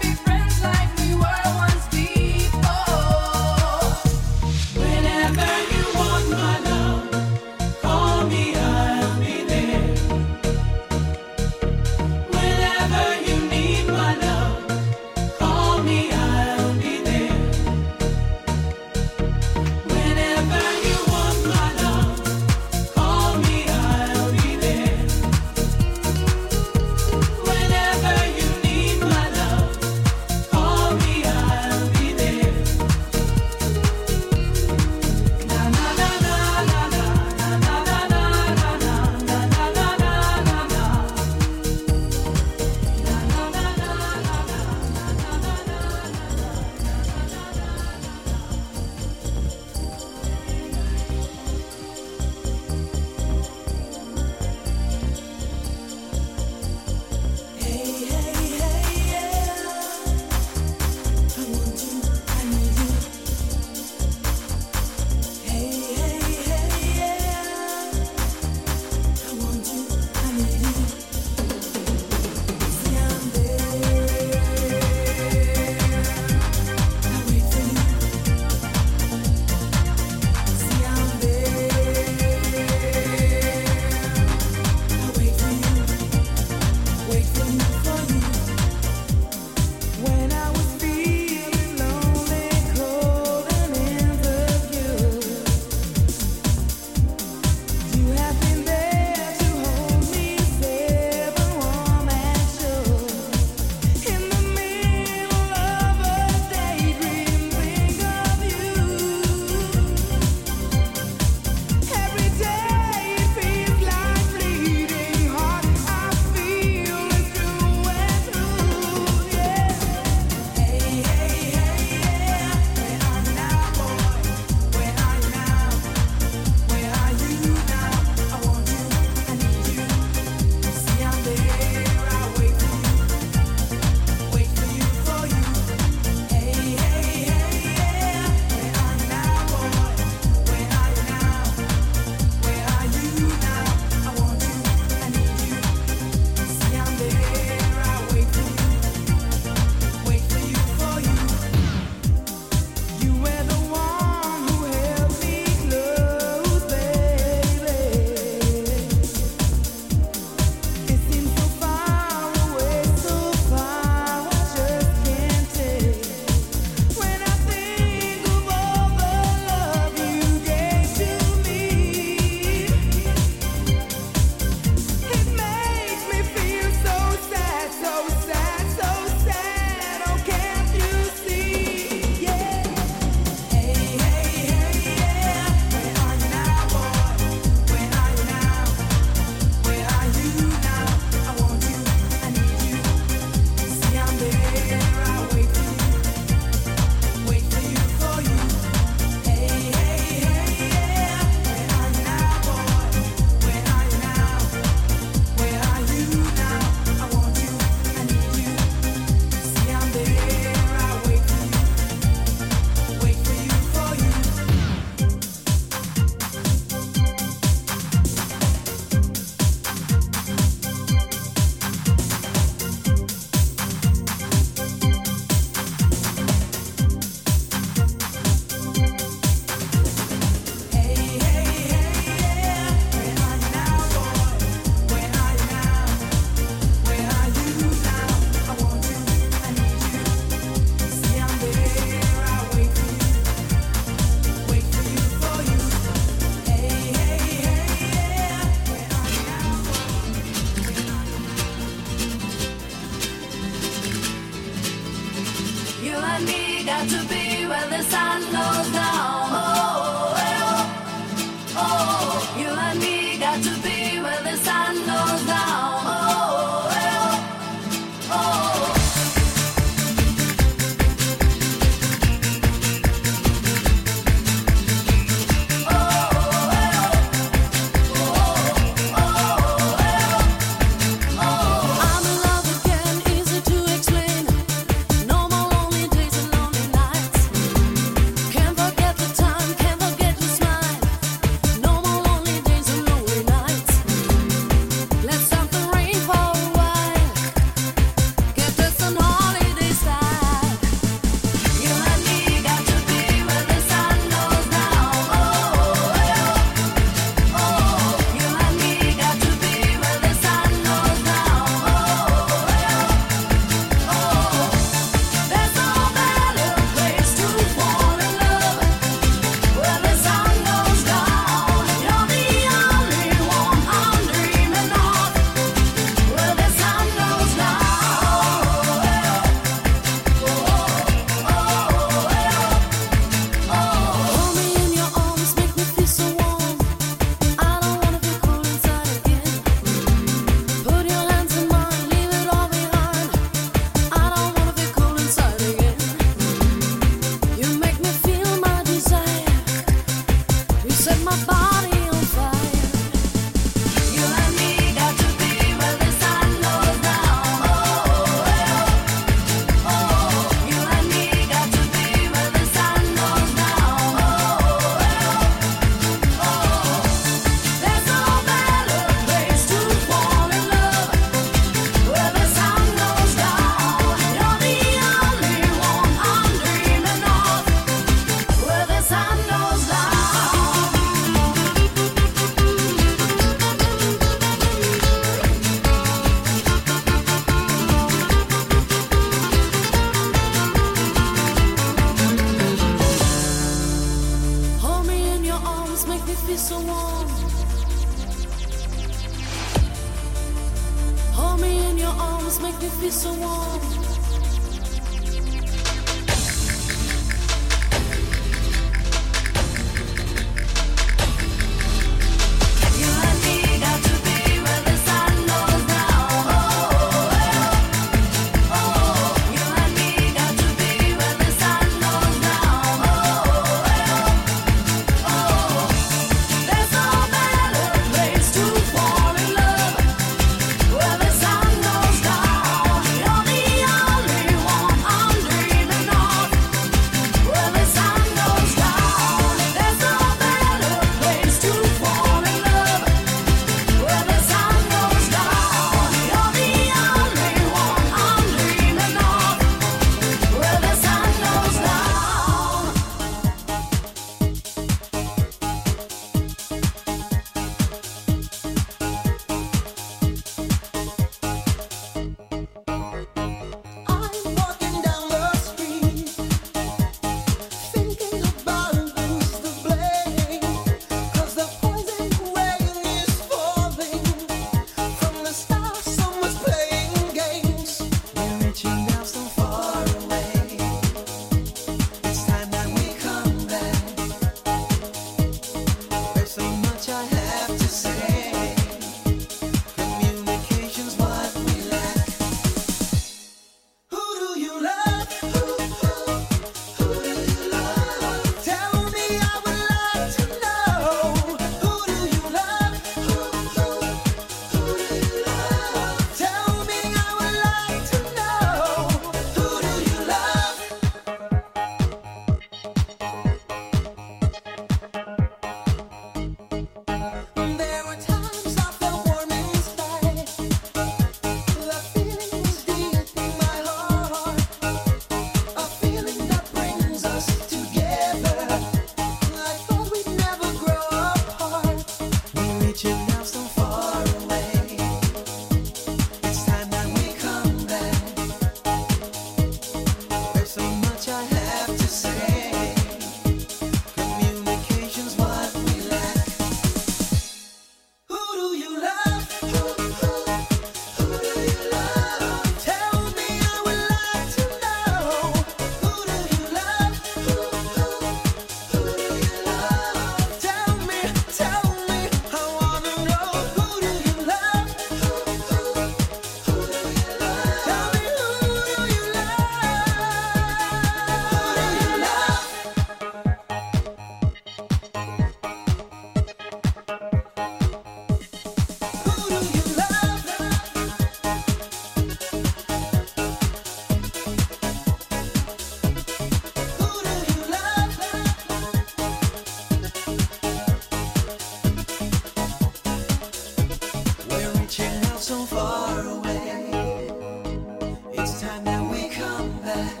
far away. It's time that we come back.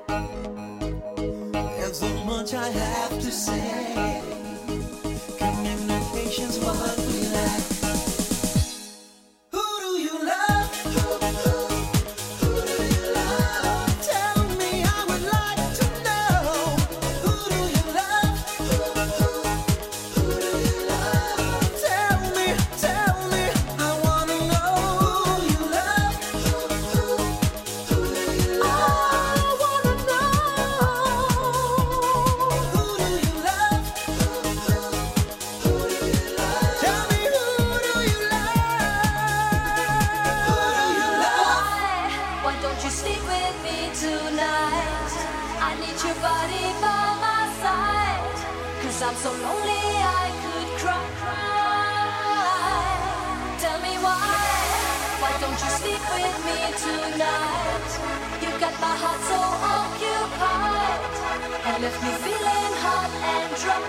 There's so much I have to say. Communication's what we lack. Who do you love? Who do you love? Tell me, I would like to know. Who do you love? Who do you love? Tell me, I wanna know who you love. Who do you love? I wanna know. Who do you love? Who do you love? Tell me, who do you love? Who do you love? Why don't you sleep with me tonight? I need your body by my side. Cause I'm so lonely I could cry. Tell me why don't you sleep with me tonight? You got my heart so occupied and left me feeling hot and dry.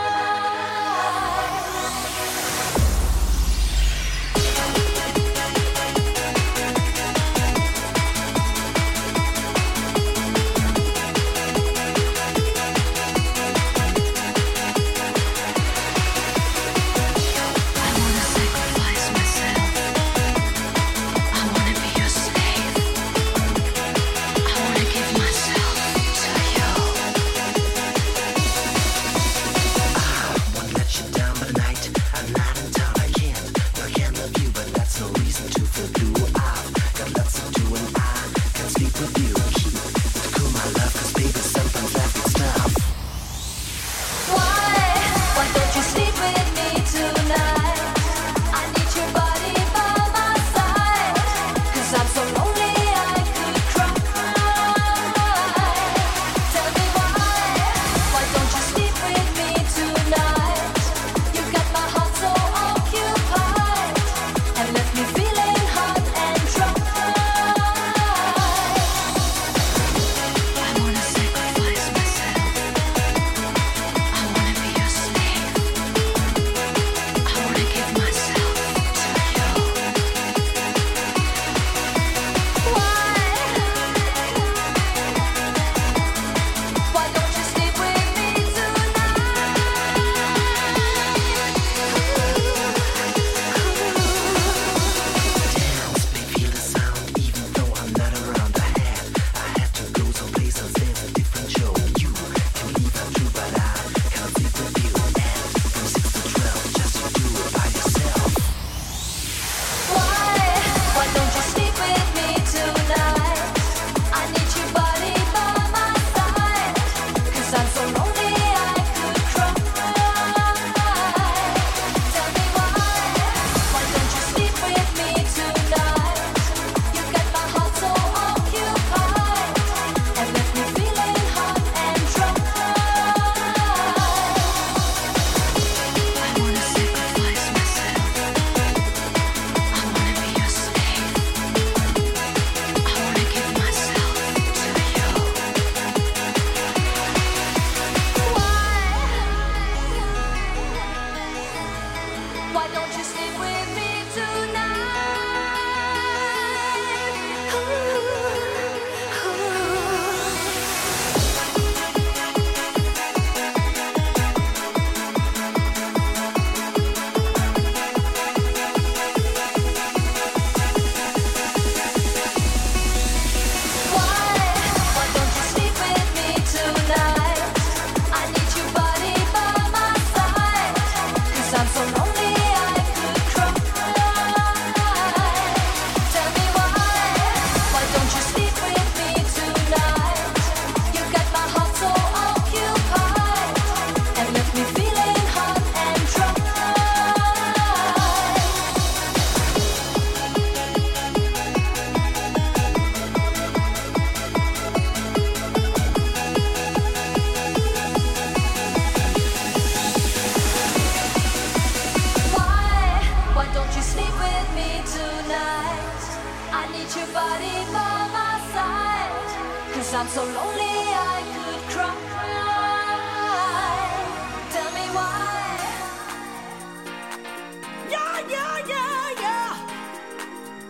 I wanna sacrifice myself. I wanna be your slave. I wanna give myself to you. Won't let you down, but tonight I'm not in town. I can't love you, but that's no reason to feel blue. I've got lots to do and I can sleep with you. Keep it cool, my love, 'cause baby, sometimes life gets tough. Why don't you sleep with me tonight? I need your body by my side. Cause I'm so lonely I could cry. Tell me why don't you sleep with me tonight? You got my heart so occupied and left me feeling hot and dry. I wanna sacrifice myself. I wanna be your slave. I wanna give myself to you. Why don't you sleep with me Dance, baby, feel the sound, even though I'm not around. I had to go someplace else. There's a different show. You can leave, I'm true, but I can't sleep with you. And from 6 to 12, just you do it by yourself. Why don't you sleep with me tonight? I need your body by my side. Cause I'm so lonely I could cry. Tell me why don't you sleep with me tonight? You got my heart so occupied and left me feeling hot and dry. I wanna sacrifice myself. I wanna be your slave. I wanna give myself to you. Why don't you sleep with me Why don't you sleep with me tonight? I need your body by my side. Cause I'm so lonely I could cry. Tell me why don't you sleep with me tonight? You got my heart so occupied and left me feeling hot and dry. Why don't you sleep with me tonight? I need your body by my side. Cause I'm so lonely I could cry. Tell me why. Yeah, yeah, yeah, yeah.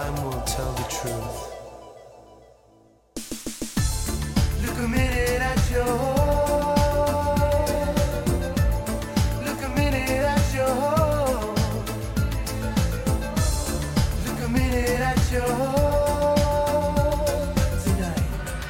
time will tell the truth. Look a minute at your Look a minute at your Look a minute at your tonight.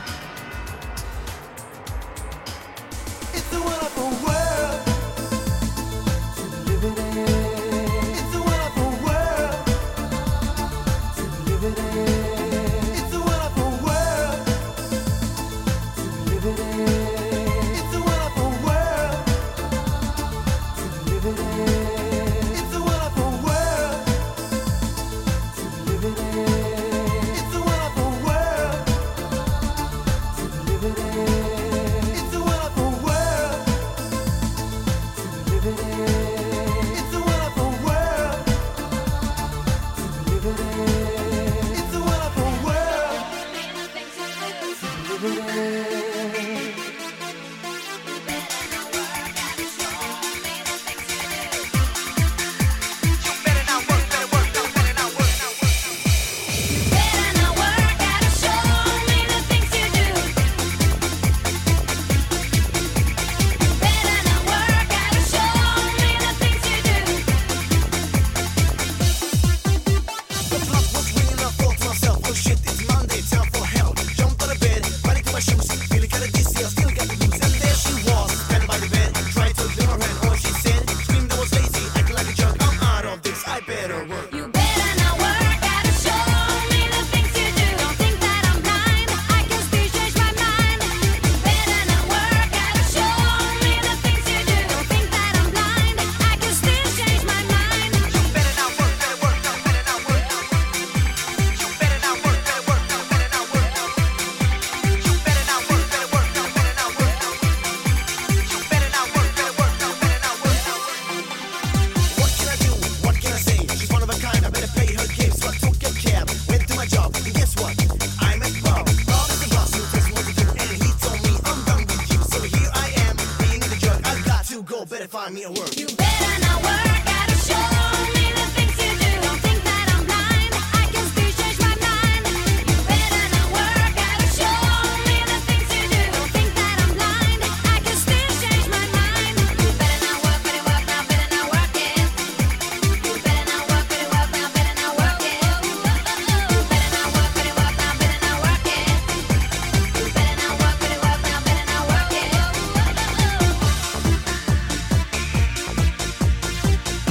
It's a wonderful world to be living in. It's a wonderful world to be living in. It's a wonderful world to be living in. It's a wonderful world to be living in. It's a wonderful world to be living in. It's a wonderful world to be living in. It's a wonderful world to be living in. It's a wonderful world to be living in. It's a wonderful world to be living in. Better not work, gotta show me the things you do. Better not work, gotta show me the things you do. The clock was ringing, I thought to myself, oh shit, it's Monday, time for hell. Jumped out of bed, ran into my shoes, feeling kinda dizzy, I still got the blues. And there she was, standing by the bed, tried to clear her hand, all she said, screamed I was lazy, acting like a jerk, I'm out of this, I better work. You better not work, gotta show me the things you do. Don't think that I'm blind, I can still change my mind. You better not work, gotta show me the things you do. Don't think that I'm blind, I can still change my mind. You better not work, better work, no, better not work. You better not work, better work, no, better not work. You better not work, better work, no, better not work. You better not work, better work, no, better not work. What can I do? What can I say? She's one of a kind, I better pay her gifts. So I took a cab, went to my job, and guess what? I met Bob. Bob is the boss who tells me what to do, and he told me I'm done with you. So here I am, being the jerk. I've got to go, better find me a work. You better not work, gotta show me the things you do. Don't think that I'm blind, I can still change my mind. You better not work, gotta show me the things you do. Don't think that I'm blind, I can still change my mind. You better not work, better work, now better not work it. You better not work, better work, now better not work it. You better not work, better work, now better not work it. You better not work, better work, now better not work it.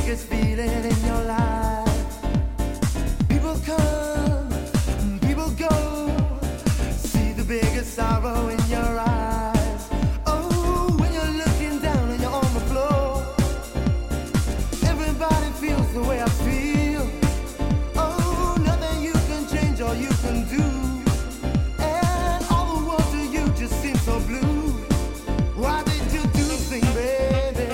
biggest feeling in your life. People come, people go. See the biggest sorrow in your eyes. Oh, when you're looking down and you're on the floor. Everybody feels the way I feel. Oh, nothing you can change or you can do. And all the world to you just seems so blue. Why did you do the thing, baby?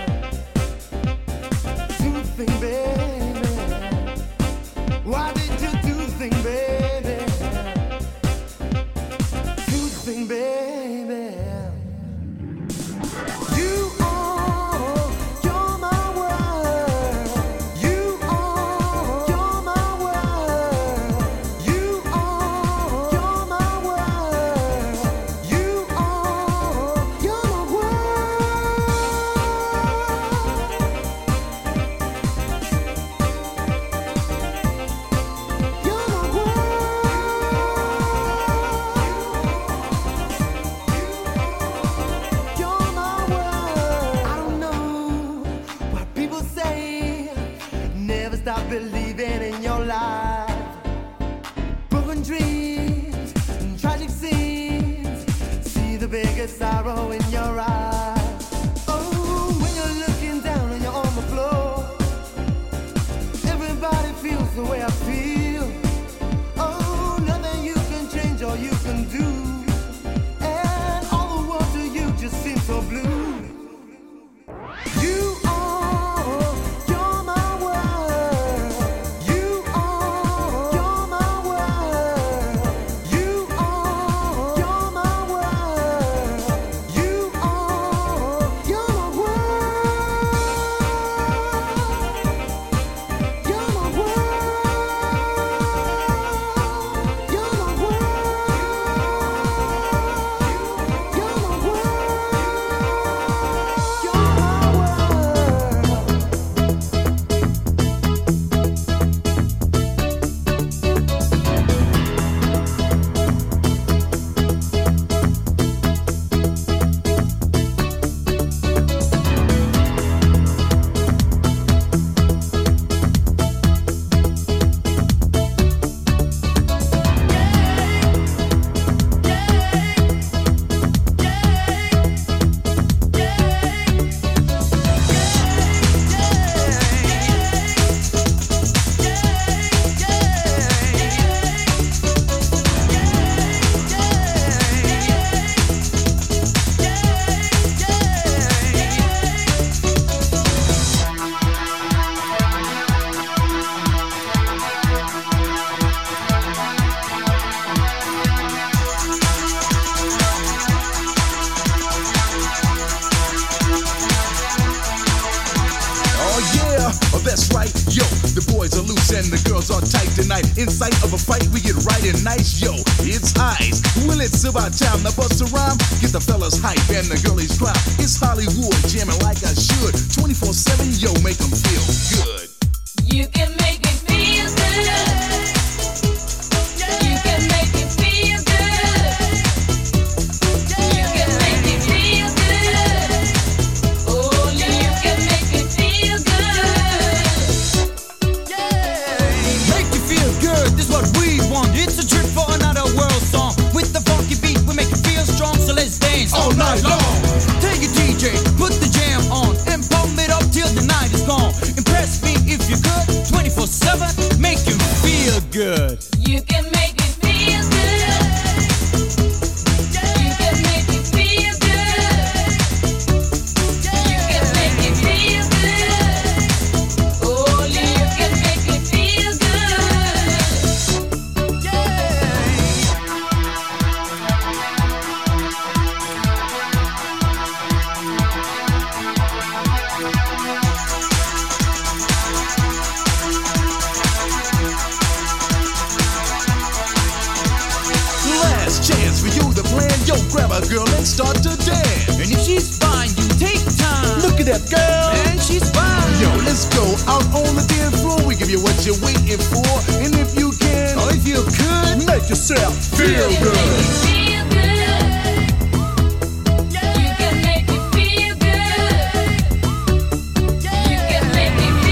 Do the thing, baby. Why did you do the thing, baby? Do the thing, baby. You are, you're my world. You are, you're my world. You are, you're my world. You are, you're my You're my world. I don't know what people say. Never stop believing in your life. Broken dreams and tragic scenes. See the biggest sorrow in your eyes. Oh, when you're looking down and you're on the floor. Everybody feels the way I feel. Oh, nothing you can change or you can do. And all the world to you just seems so blue. You are, you're my world. You are, you're my world. You are, you're my world. You are, you're my world. You're my world. You're my That's right, yo, the boys are loose and the girls are tight tonight. In sight of a fight, we get right and nice, yo, it's ice. Well, it's about time, now bust a rhyme, get the fellas hype and the girlies cry. It's Hollywood, jamming like I should, 24/7, yo, make them feel good. You can make me feel good. You can make me feel good. You can make me feel good. Only you can make me feel good. Make you feel good, this is what we want. It's a trip for another world song. With the funky beat, we make you feel strong, so let's dance all night long. Take a DJ, put the jam on, and pump it up till the night is gone. Impress me if you could, 24/7, make you feel good. You can make me feel good. You can make me feel good. You can make me feel good. Only you can make me feel good. Last chance for you to plan, yo, grab a girl and start to dance. And if she's fine, you take time. Look at that girl. And she's fine. Yo, let's go out on the dance floor. We give you what you're waiting for. And if you can, Or if you could, make yourself feel You can good. make me feel good. You can make me feel good. You can make me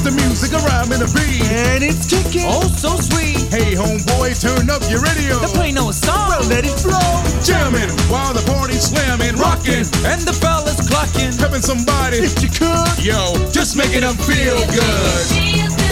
the music, a rhyme and a beat. And it's kicking, oh so sweet. Hey homeboy, turn up your radio. The play no song, well let it flow. Jamming while the party's slamming, rocking, and the fellas clucking. Helping somebody, if you could, yo, just making them feel good.